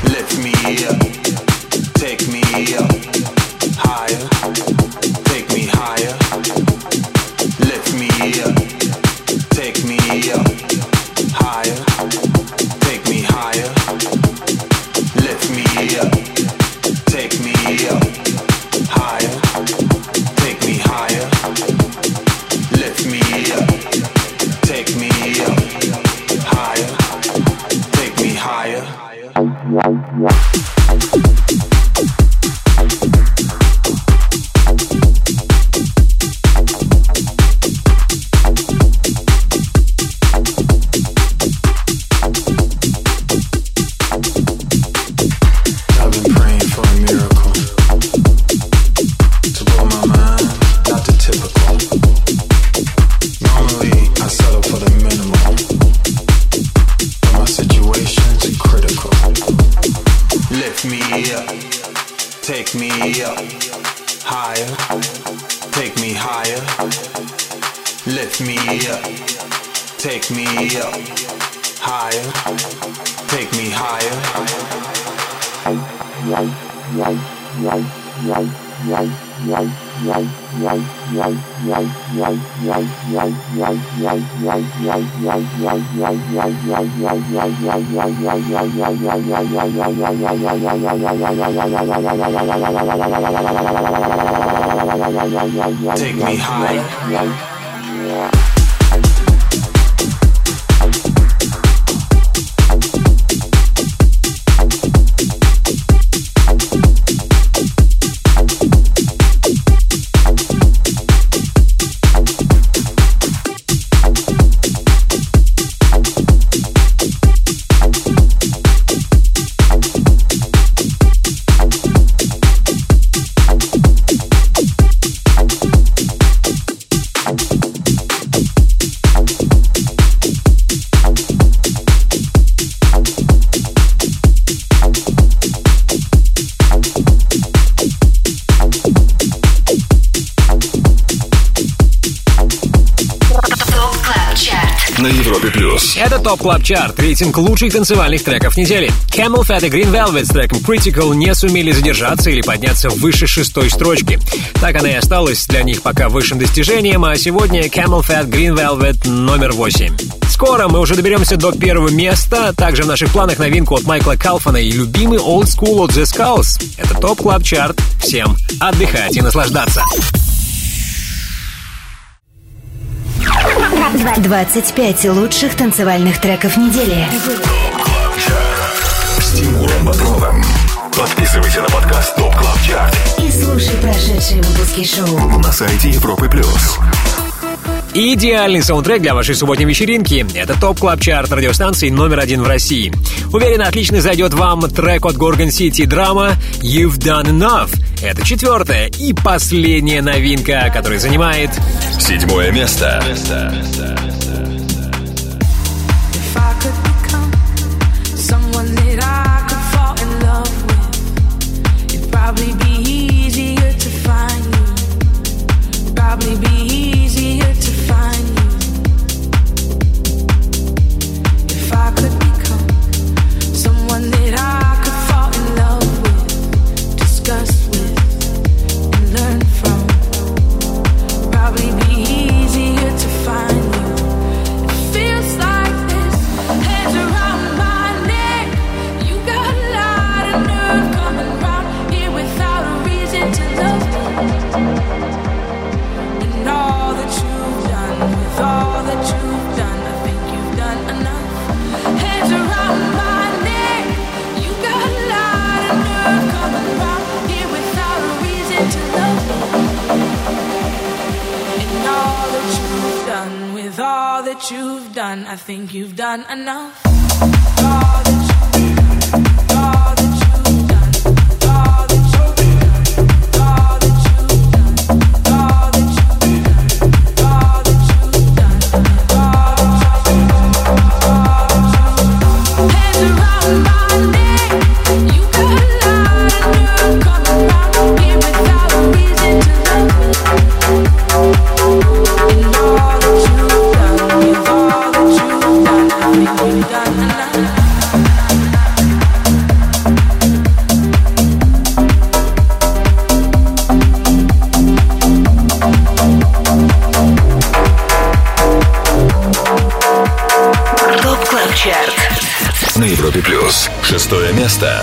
Take me higher. На Европе плюс. Это ТОП Клаб Чарт, рейтинг лучших танцевальных треков недели. Camel Fat и Green Velvet с треком Critical не сумели задержаться или подняться выше 6-й строчки. Так она и осталась для них пока высшим достижением, а сегодня Camel Fat, Green Velvet номер 8. Скоро мы уже доберемся до первого места. Также в наших планах новинку от Майкла Калфана и любимый Old School от The Skulls. Это ТОП Клаб Чарт. Всем отдыхать и наслаждаться. 25 лучших танцевальных треков недели. С Тимуром Бодровым. Подписывайся на подкаст ТОП Клаб Чарт И слушай прошедшие выпуски шоу на сайте Европы плюс. Идеальный саундтрек для вашей субботней вечеринки. Это ТОП Клаб Чарт радиостанции номер 1 в России. Уверен, отлично зайдет вам трек от Gorgon City Drama You've Done Enough. Это 4-я и последняя новинка, которая занимает 7 место. Someone that I could fall in love with, it'd probably be easier done. I think you've done enough. На Европе Плюс. 6 место.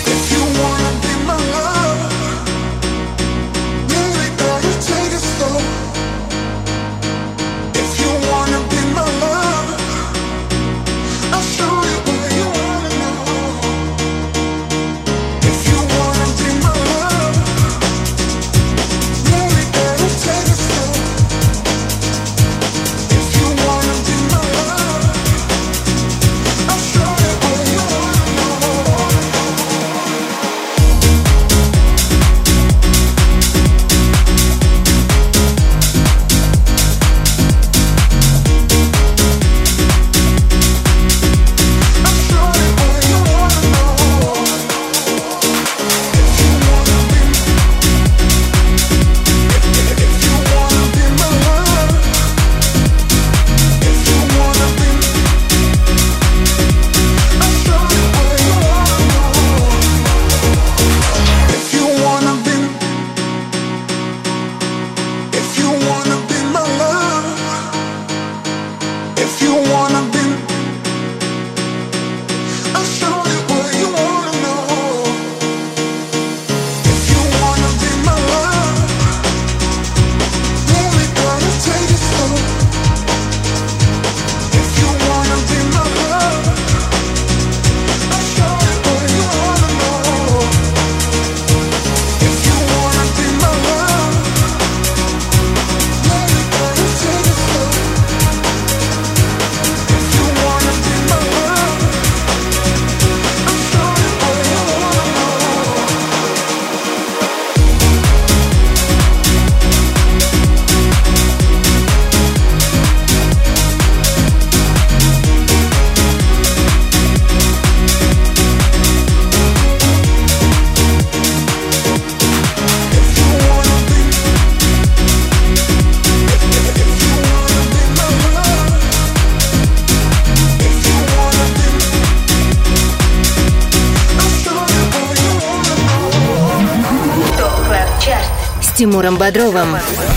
Тимуром Бодровым.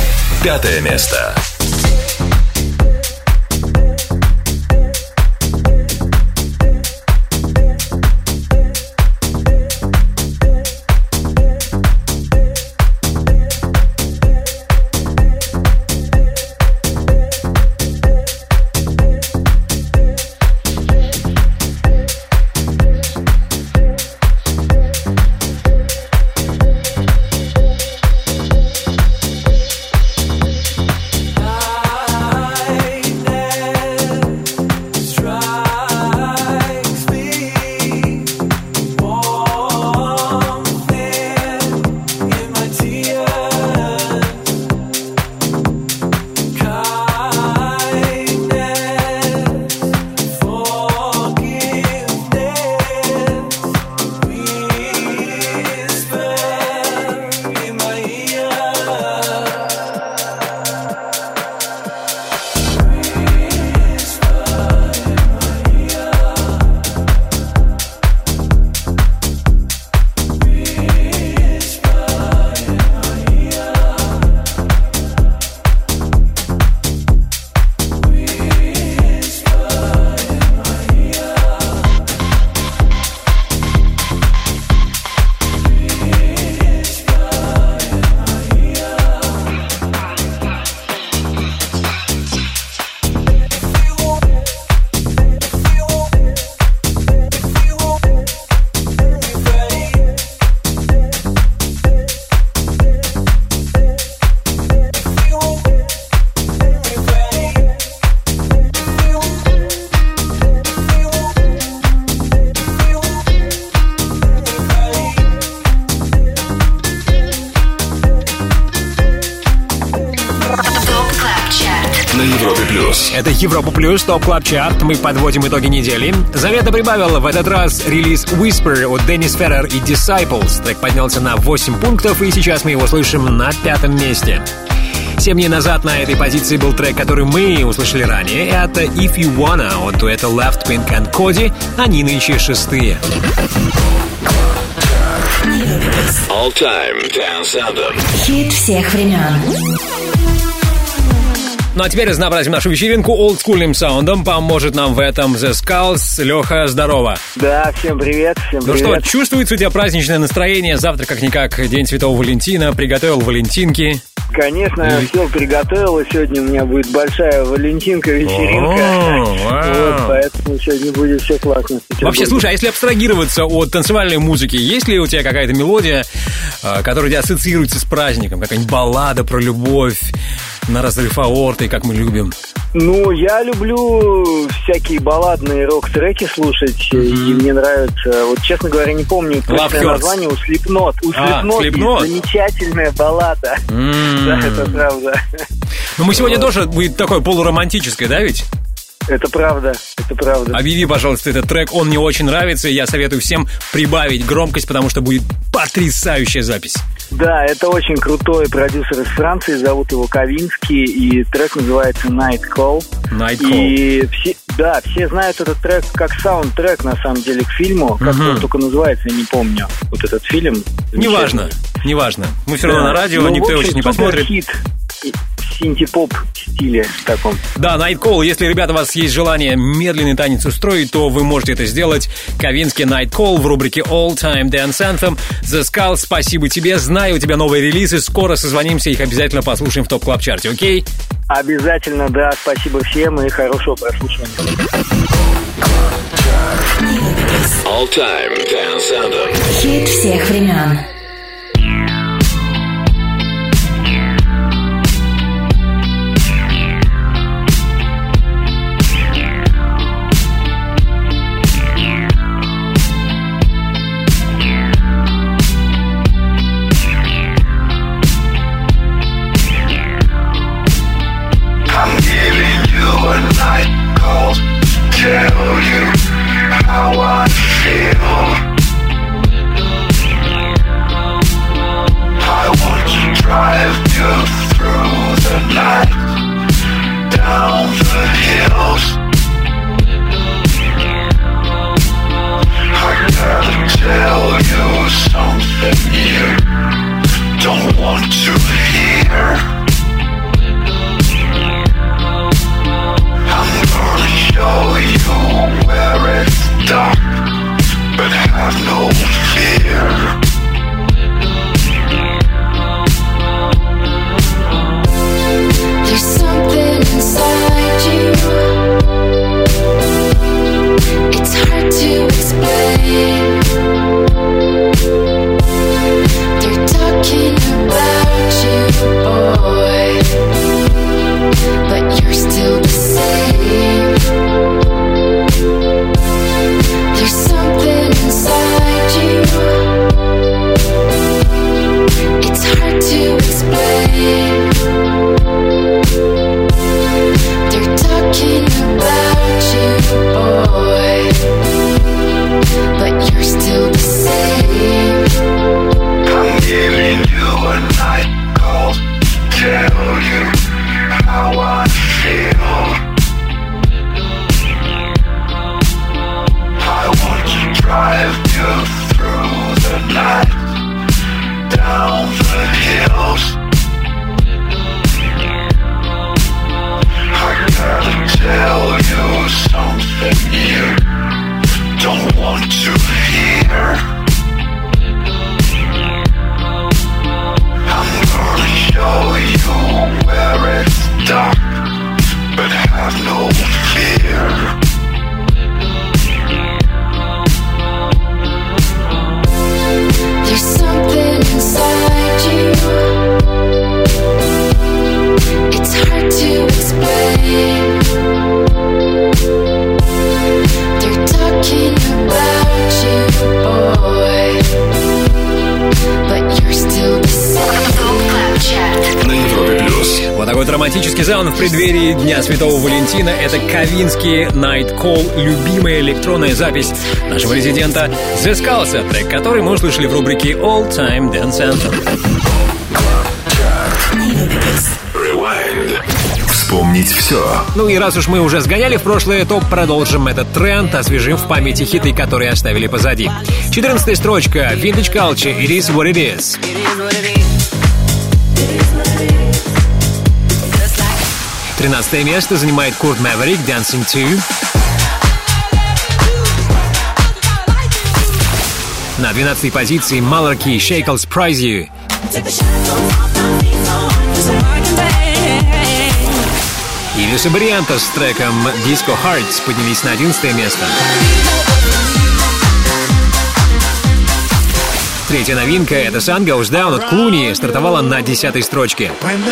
5 место. Это Европа Плюс, ТОП Клаб Чарт. Мы подводим итоги недели. Завета прибавила в этот раз релиз Whisper от Деннис Феррер и Disciples. Трек поднялся на 8 пунктов, и сейчас мы его слышим на 5-м месте. 7 дней назад на этой позиции был трек, который мы услышали ранее. Это If You Wanna от дуэта Left Pink and Cody. Они нынче 6-е. All Time Dance Anthem. Хит всех времен. Ну а теперь разнообразим нашу вечеринку олдскульным саундом. Поможет нам в этом The Skulls. Леха, здорово. Да, всем привет, всем ну привет. Ну что, чувствуется у тебя праздничное настроение? Завтра как-никак День Святого Валентина. Приготовил валентинки? Конечно, все приготовил, и сегодня у меня будет большая валентинка, вечеринка. Вот, поэтому сегодня будет все классно. Вообще, слушай, а если абстрагироваться от танцевальной музыки, есть ли у тебя какая-то мелодия, которая у тебя ассоциируется с праздником? Какая-нибудь баллада про любовь на разрыв аорты, как мы любим? Ну, я люблю всякие балладные рок-треки слушать, и мне нравится, вот, честно говоря, не помню точное название, у Slipknot. У Slipknot есть замечательная баллада. Да, это правда. Ну, мы сегодня тоже будет такое полуромантическое, да, ведь? Это правда, это правда. Объяви, пожалуйста, этот трек, он мне очень нравится, и я советую всем прибавить громкость, потому что будет потрясающая запись. Да, это очень крутой продюсер из Франции, зовут его Ковинский, и трек называется Night Call. Night Call. И все знают этот трек как саундтрек, на самом деле, к фильму. Как он только называется, я не помню. Вот этот фильм. Неважно. Мы все равно на радио, никто его сейчас не посмотрит. Хит. Синти-поп стиле таком. Да, Night Call. Если, ребята, у вас есть желание медленный танец устроить, то вы можете это сделать. Ковинский Night Call в рубрике All Time Dance Anthem. The Skulls, спасибо тебе. Знаю, у тебя новые релизы. Скоро созвонимся, их обязательно послушаем в ТОП Клаб Чарте, окей? Обязательно, да. Спасибо всем и хорошего прослушивания. All Time Dance Anthem. Хит всех времен. Tell you how I feel. романтический саунд в преддверии Дня Святого Валентина. Это Ковинский Night Call, любимая электронная запись нашего резидента The Skulls, трек, который мы услышали в рубрике All Time Dance Anthem. Вспомнить все. Ну и раз уж мы уже сгоняли в прошлое, то продолжим этот тренд, освежим в памяти хиты, которые оставили позади. 14-я строчка, Vintage Culture, It Is What It Is. 13-е место занимает Kurt Maverick, Dancing To. На 12-й позиции Malarkey, Shackle Surprise You. И Люси Барриенто с треком Disco Hearts поднялись на 11-е место. Третья новинка — это Sun Goes Down от Клуни, стартовала на 10-й строчке.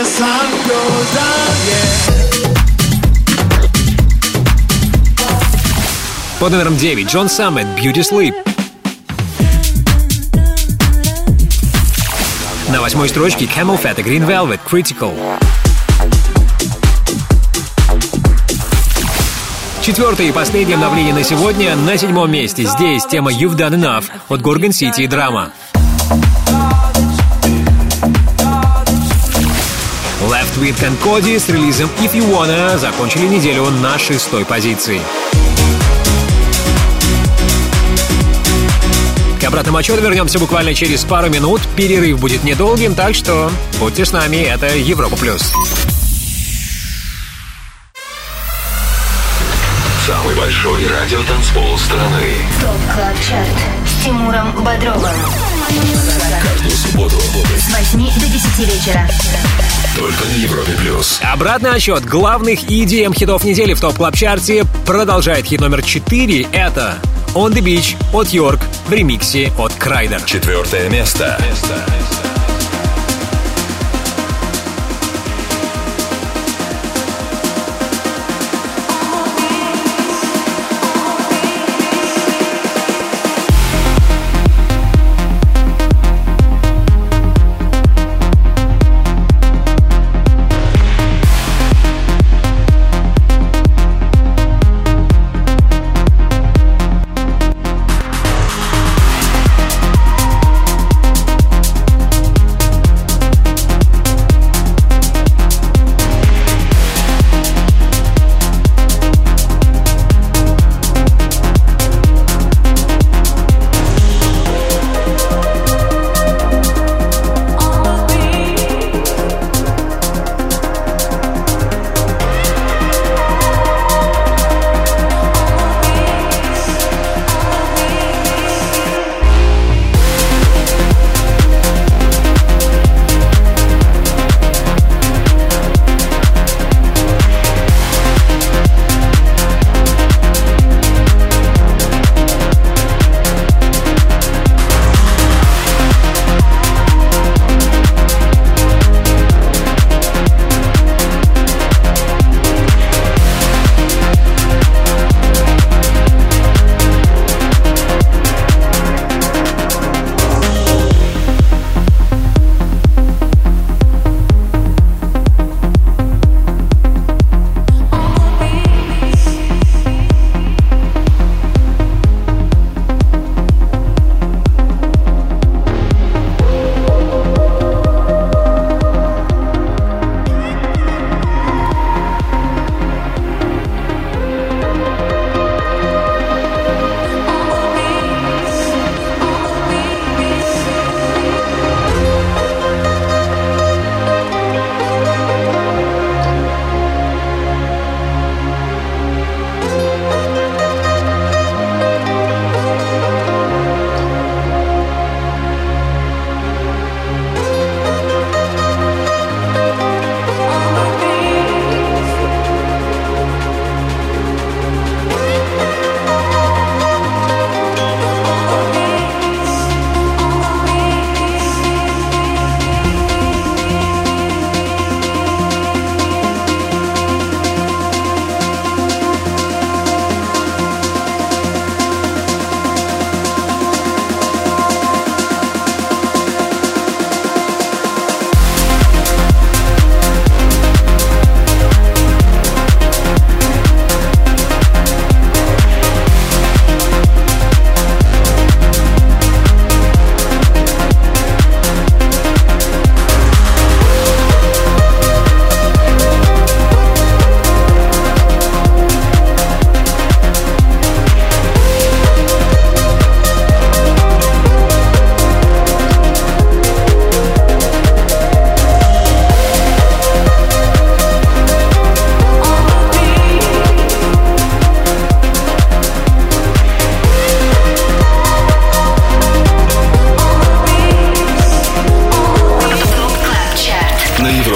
Под номером 9 Джон Саммет, Beauty Sleep. На 8-й строчке Camel Fat и Green Velvet, Critical. 4-е и последнее обновление на сегодня. На 7-м месте здесь тема You've Done Enough от Gorgon City и Drama. Left with and Cody с релизом If You Wanna закончили неделю на 6-й позиции. К обратному отчету вернемся буквально через пару минут. Перерыв будет недолгим, так что будьте с нами. Это Европа Плюс. Самый большой радиотанцпол страны. ТОП Клаб Чарт с Тимуром Бодровым. Каждую субботу с 8 до 10 вечера. Только на Европе Плюс. Обратный отсчет главных EDM хитов недели в ТОП Клаб Чарте продолжает хит номер 4. Это On The Beach от Йорк в ремиксе от Крайдер. 4-е место.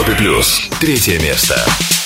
Европе плюс 3 место.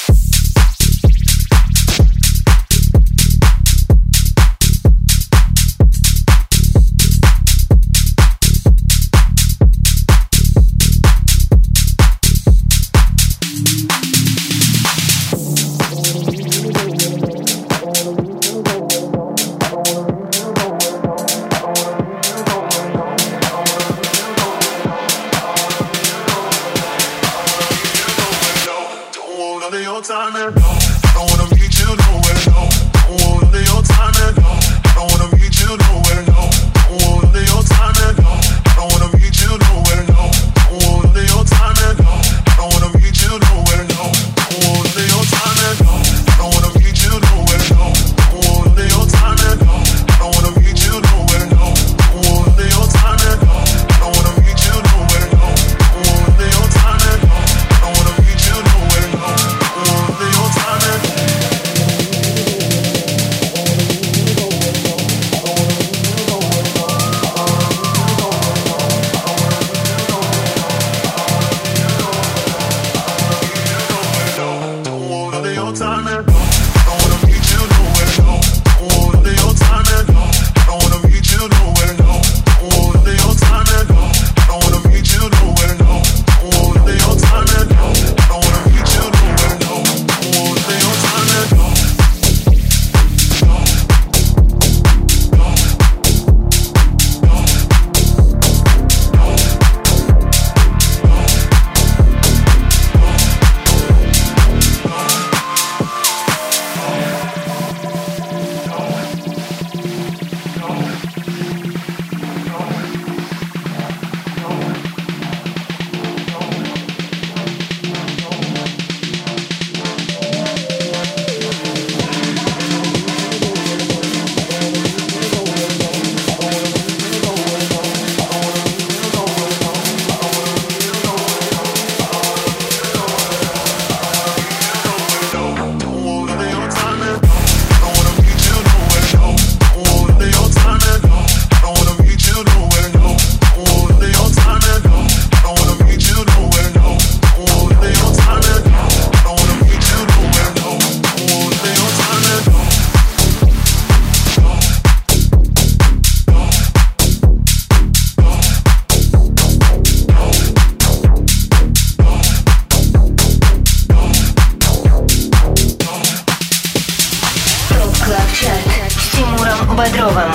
Бодровым.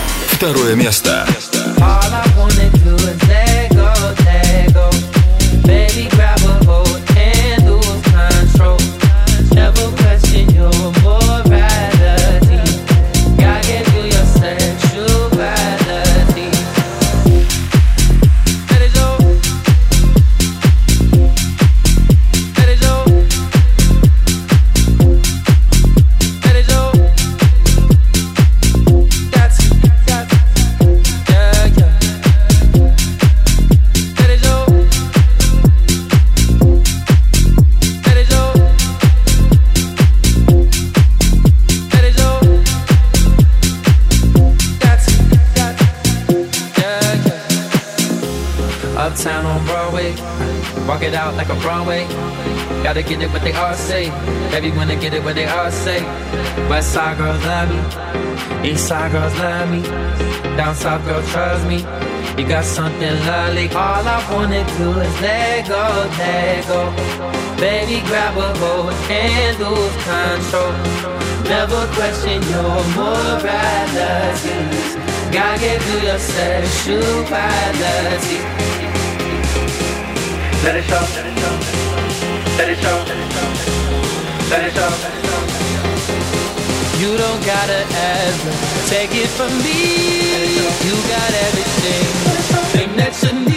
2 место. Uptown on Broadway, walk it out like a Broadway. Gotta get it what they all say. Everyone to get it what they all say. West side girls love me, east side girls love me, down south girls trust me. You got something lovely. All I wanna do is let go, let go. Baby, grab a hold, can't lose control. Never question your moralities. Gotta get through your sexuality. Let it show, let it show, let it show, let it show. You don't gotta ever take it from me. You got everything that you need.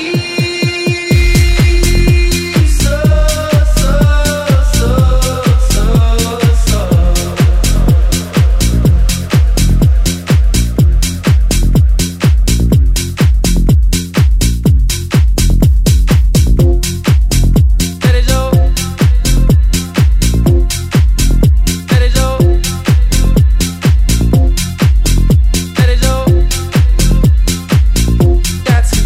That's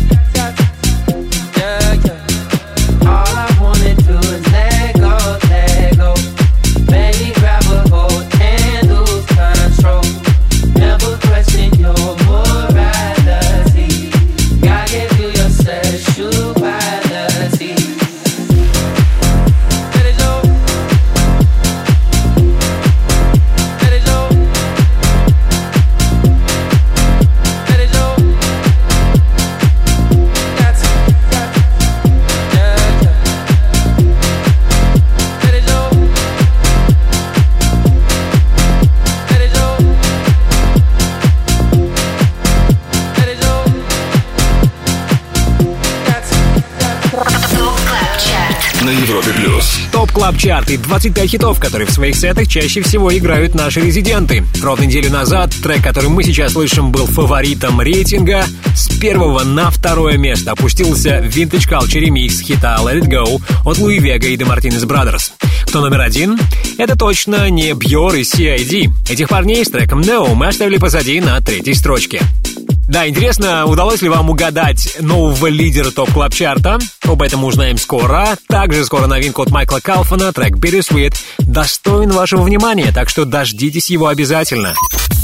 Европе+. ТОП Клаб Чарт и 25 хитов, которые в своих сетах чаще всего играют наши резиденты. Ровно неделю назад трек, который мы сейчас слышим, был фаворитом рейтинга. С 1 на 2 место опустился Vintage Culture ремикс хита Let It Go от Луи Вега и The Martinez Brothers. Кто номер 1? Это точно не Бьор и CID. Этих парней с треком No мы оставили позади на 3-й строчке. Да, интересно, удалось ли вам угадать нового лидера ТОП Клаб Чарта? Об этом узнаем скоро. Также скоро новинка от Майкла Калфана, трек Bittersweet, достоин вашего внимания, так что дождитесь его обязательно.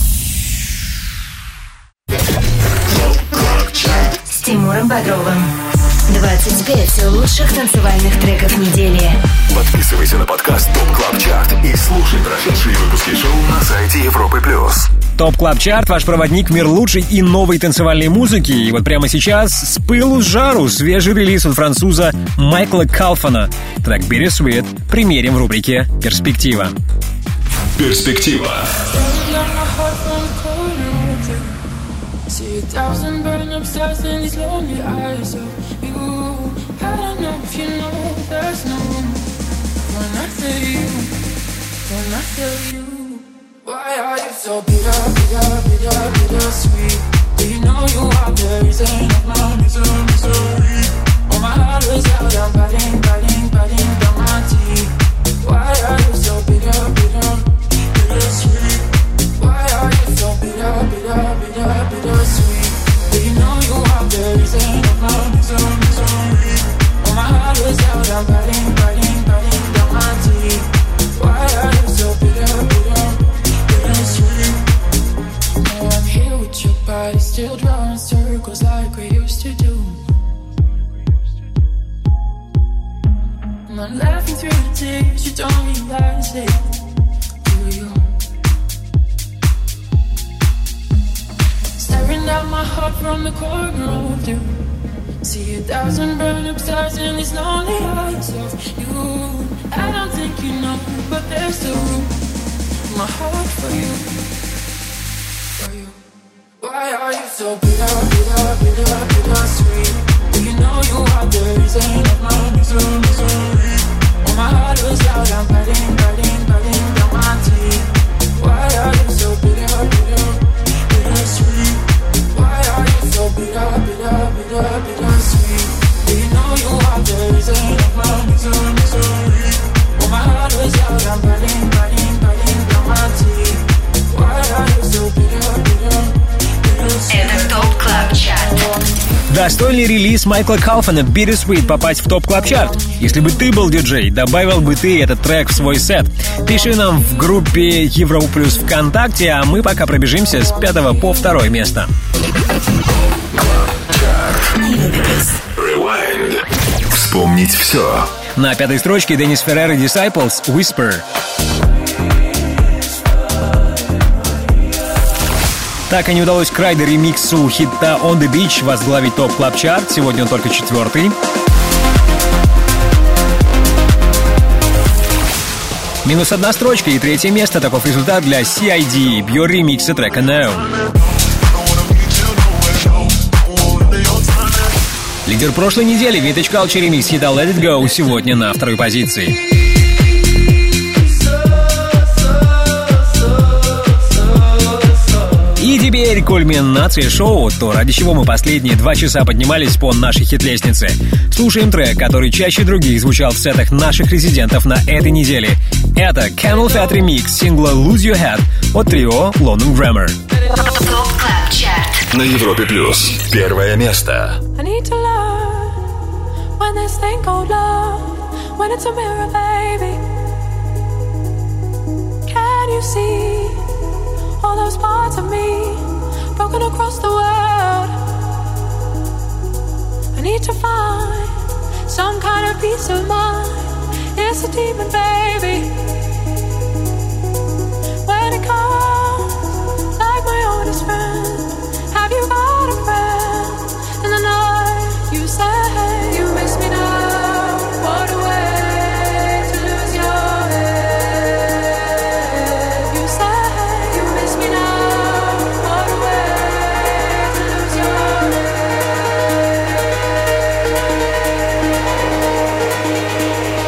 С Тимуром Бодровым. 25 лучших танцевальных треков недели. Подписывайся на подкаст ТОП Клаб Чарт и слушай прошедшие выпуски шоу на сайте Европы+. ТОП Клаб Чарт — ваш проводник в мир лучшей и новой танцевальной музыки. И вот прямо сейчас с пылу с жару свежий релиз от француза Майкла Калфана. Трек Bittersweet примерим в рубрике «Перспектива». Перспектива. See 1,000 burning up stars in these lonely eyes of you. I don't know if you know there's no room when I feel you, when I feel you. Why are you so bitter, bitter, bitter, bitter sweet? Do you know you are the reason of my misery? Oh, my heart is out, I'm biting, biting, biting down my teeth. Why are you so bitter, bitter, bitter sweet? Why are you so bitter, bitter, bitter, bitter sweet? Do you know you are the reason of my misery? Oh, my heart is out, I'm biting, biting, biting down my teeth. Why are you so bitter, bitter, bitter sweet? Now I'm here with your body, still drawing circles like we used to do. And I'm laughing through the tears, you don't realize it, do you? Staring down my heart from the corner of you. See 1,000 burn up stars in these lonely eyes of you. I don't think you know, but there's still room in my heart for you, for you. Why are you so bitter, bitter, bitter, bitter sweet? Do you know you are the reason of my misery? Oh, my heart was out, I'm biting, biting, biting down my teeth. Why are you so bitter, bitter, bitter sweet? Why are you so bitter, bitter, bitter, bitter sweet? Do you know you are the reason of my misery? Oh, my heart was out, I'm biting, biting, biting down my teeth. Why are you so bitter, bitter, bitter sweet? Это ТОП Клаб Чарт. Достойный релиз Майкла Калфана Bittersweet попасть в ТОП Клаб Чарт. Если бы ты был диджей, добавил бы ты этот трек в свой сет. Пиши нам в группе Европа Плюс ВКонтакте, а мы пока пробежимся с 5 по 2 место. Rewind. Вспомнить все. На 5-й строчке Деннис Феррер и Disciples Whisper. Так и не удалось Крайдер ремиксу хита On The Beach возглавить ТОП Клаб Чарт. Сегодня он только 4-й. Минус 1 строчка и 3 место. Таков результат для CID, Бьор ремикса трека No. Лидер прошлой недели Vintage Culture ремикс хита Let It Go сегодня на 2-й позиции. И теперь кульминация шоу, то ради чего мы последние 2 часа поднимались по нашей хит-лестнице. Слушаем трек, который чаще других звучал в сетах наших резидентов на этой неделе. Это Camel Fat ремикс сингла Lose Your Head от трио London Grammar. На Европе Плюс. 1 место. I need to learn when this thing called love, when it's a mirror, baby. Can you see all those parts of me broken across the world? I need to find some kind of peace of mind. It's a demon, baby. When it comes like my oldest friend, have you got a friend? In the night you say you miss me now. What a way to lose your head. You say you miss me now. What a way to lose your head.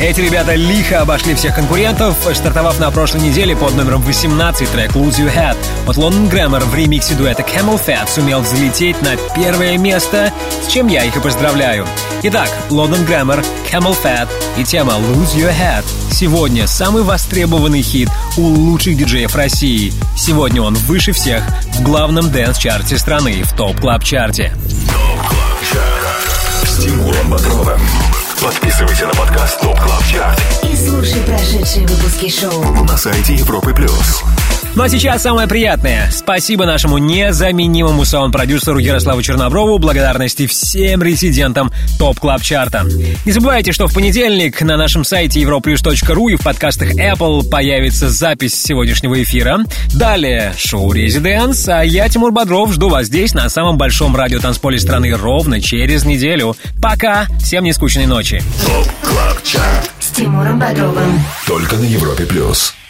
Эти ребята лихо обошли всех конкурентов, стартовав на прошлой неделе под номером 18 трек «Lose Your Head» от London Grammar в ремиксе дуэта Camel Fat сумел взлететь на первое место, с чем я их и поздравляю. Итак, London Grammar, Camel Fat и тема «Lose Your Head». Сегодня самый востребованный хит у лучших диджеев России. Сегодня он выше всех в главном дэнс-чарте страны, в ТОП-клаб-чарте. ТОП-клаб-чарт с Тимуром Бодровым. Подписывайся на подкаст ТОП Клаб Чарт и слушай прошедшие выпуски шоу на сайте Европы+. Ну а сейчас самое приятное. Спасибо нашему незаменимому саунд-продюсеру Ярославу Черноброву. Благодарности всем резидентам ТОП Клаб Чарта. Не забывайте, что в понедельник на нашем сайте europlus.ru и в подкастах Apple появится запись сегодняшнего эфира. Далее шоу «Резиденс», а я, Тимур Бодров, жду вас здесь, на самом большом радиотанцполе страны, ровно через неделю. Пока! Всем нескучной ночи. ТОП Клаб Чарт с Тимуром Бодровым. Только на Европе+.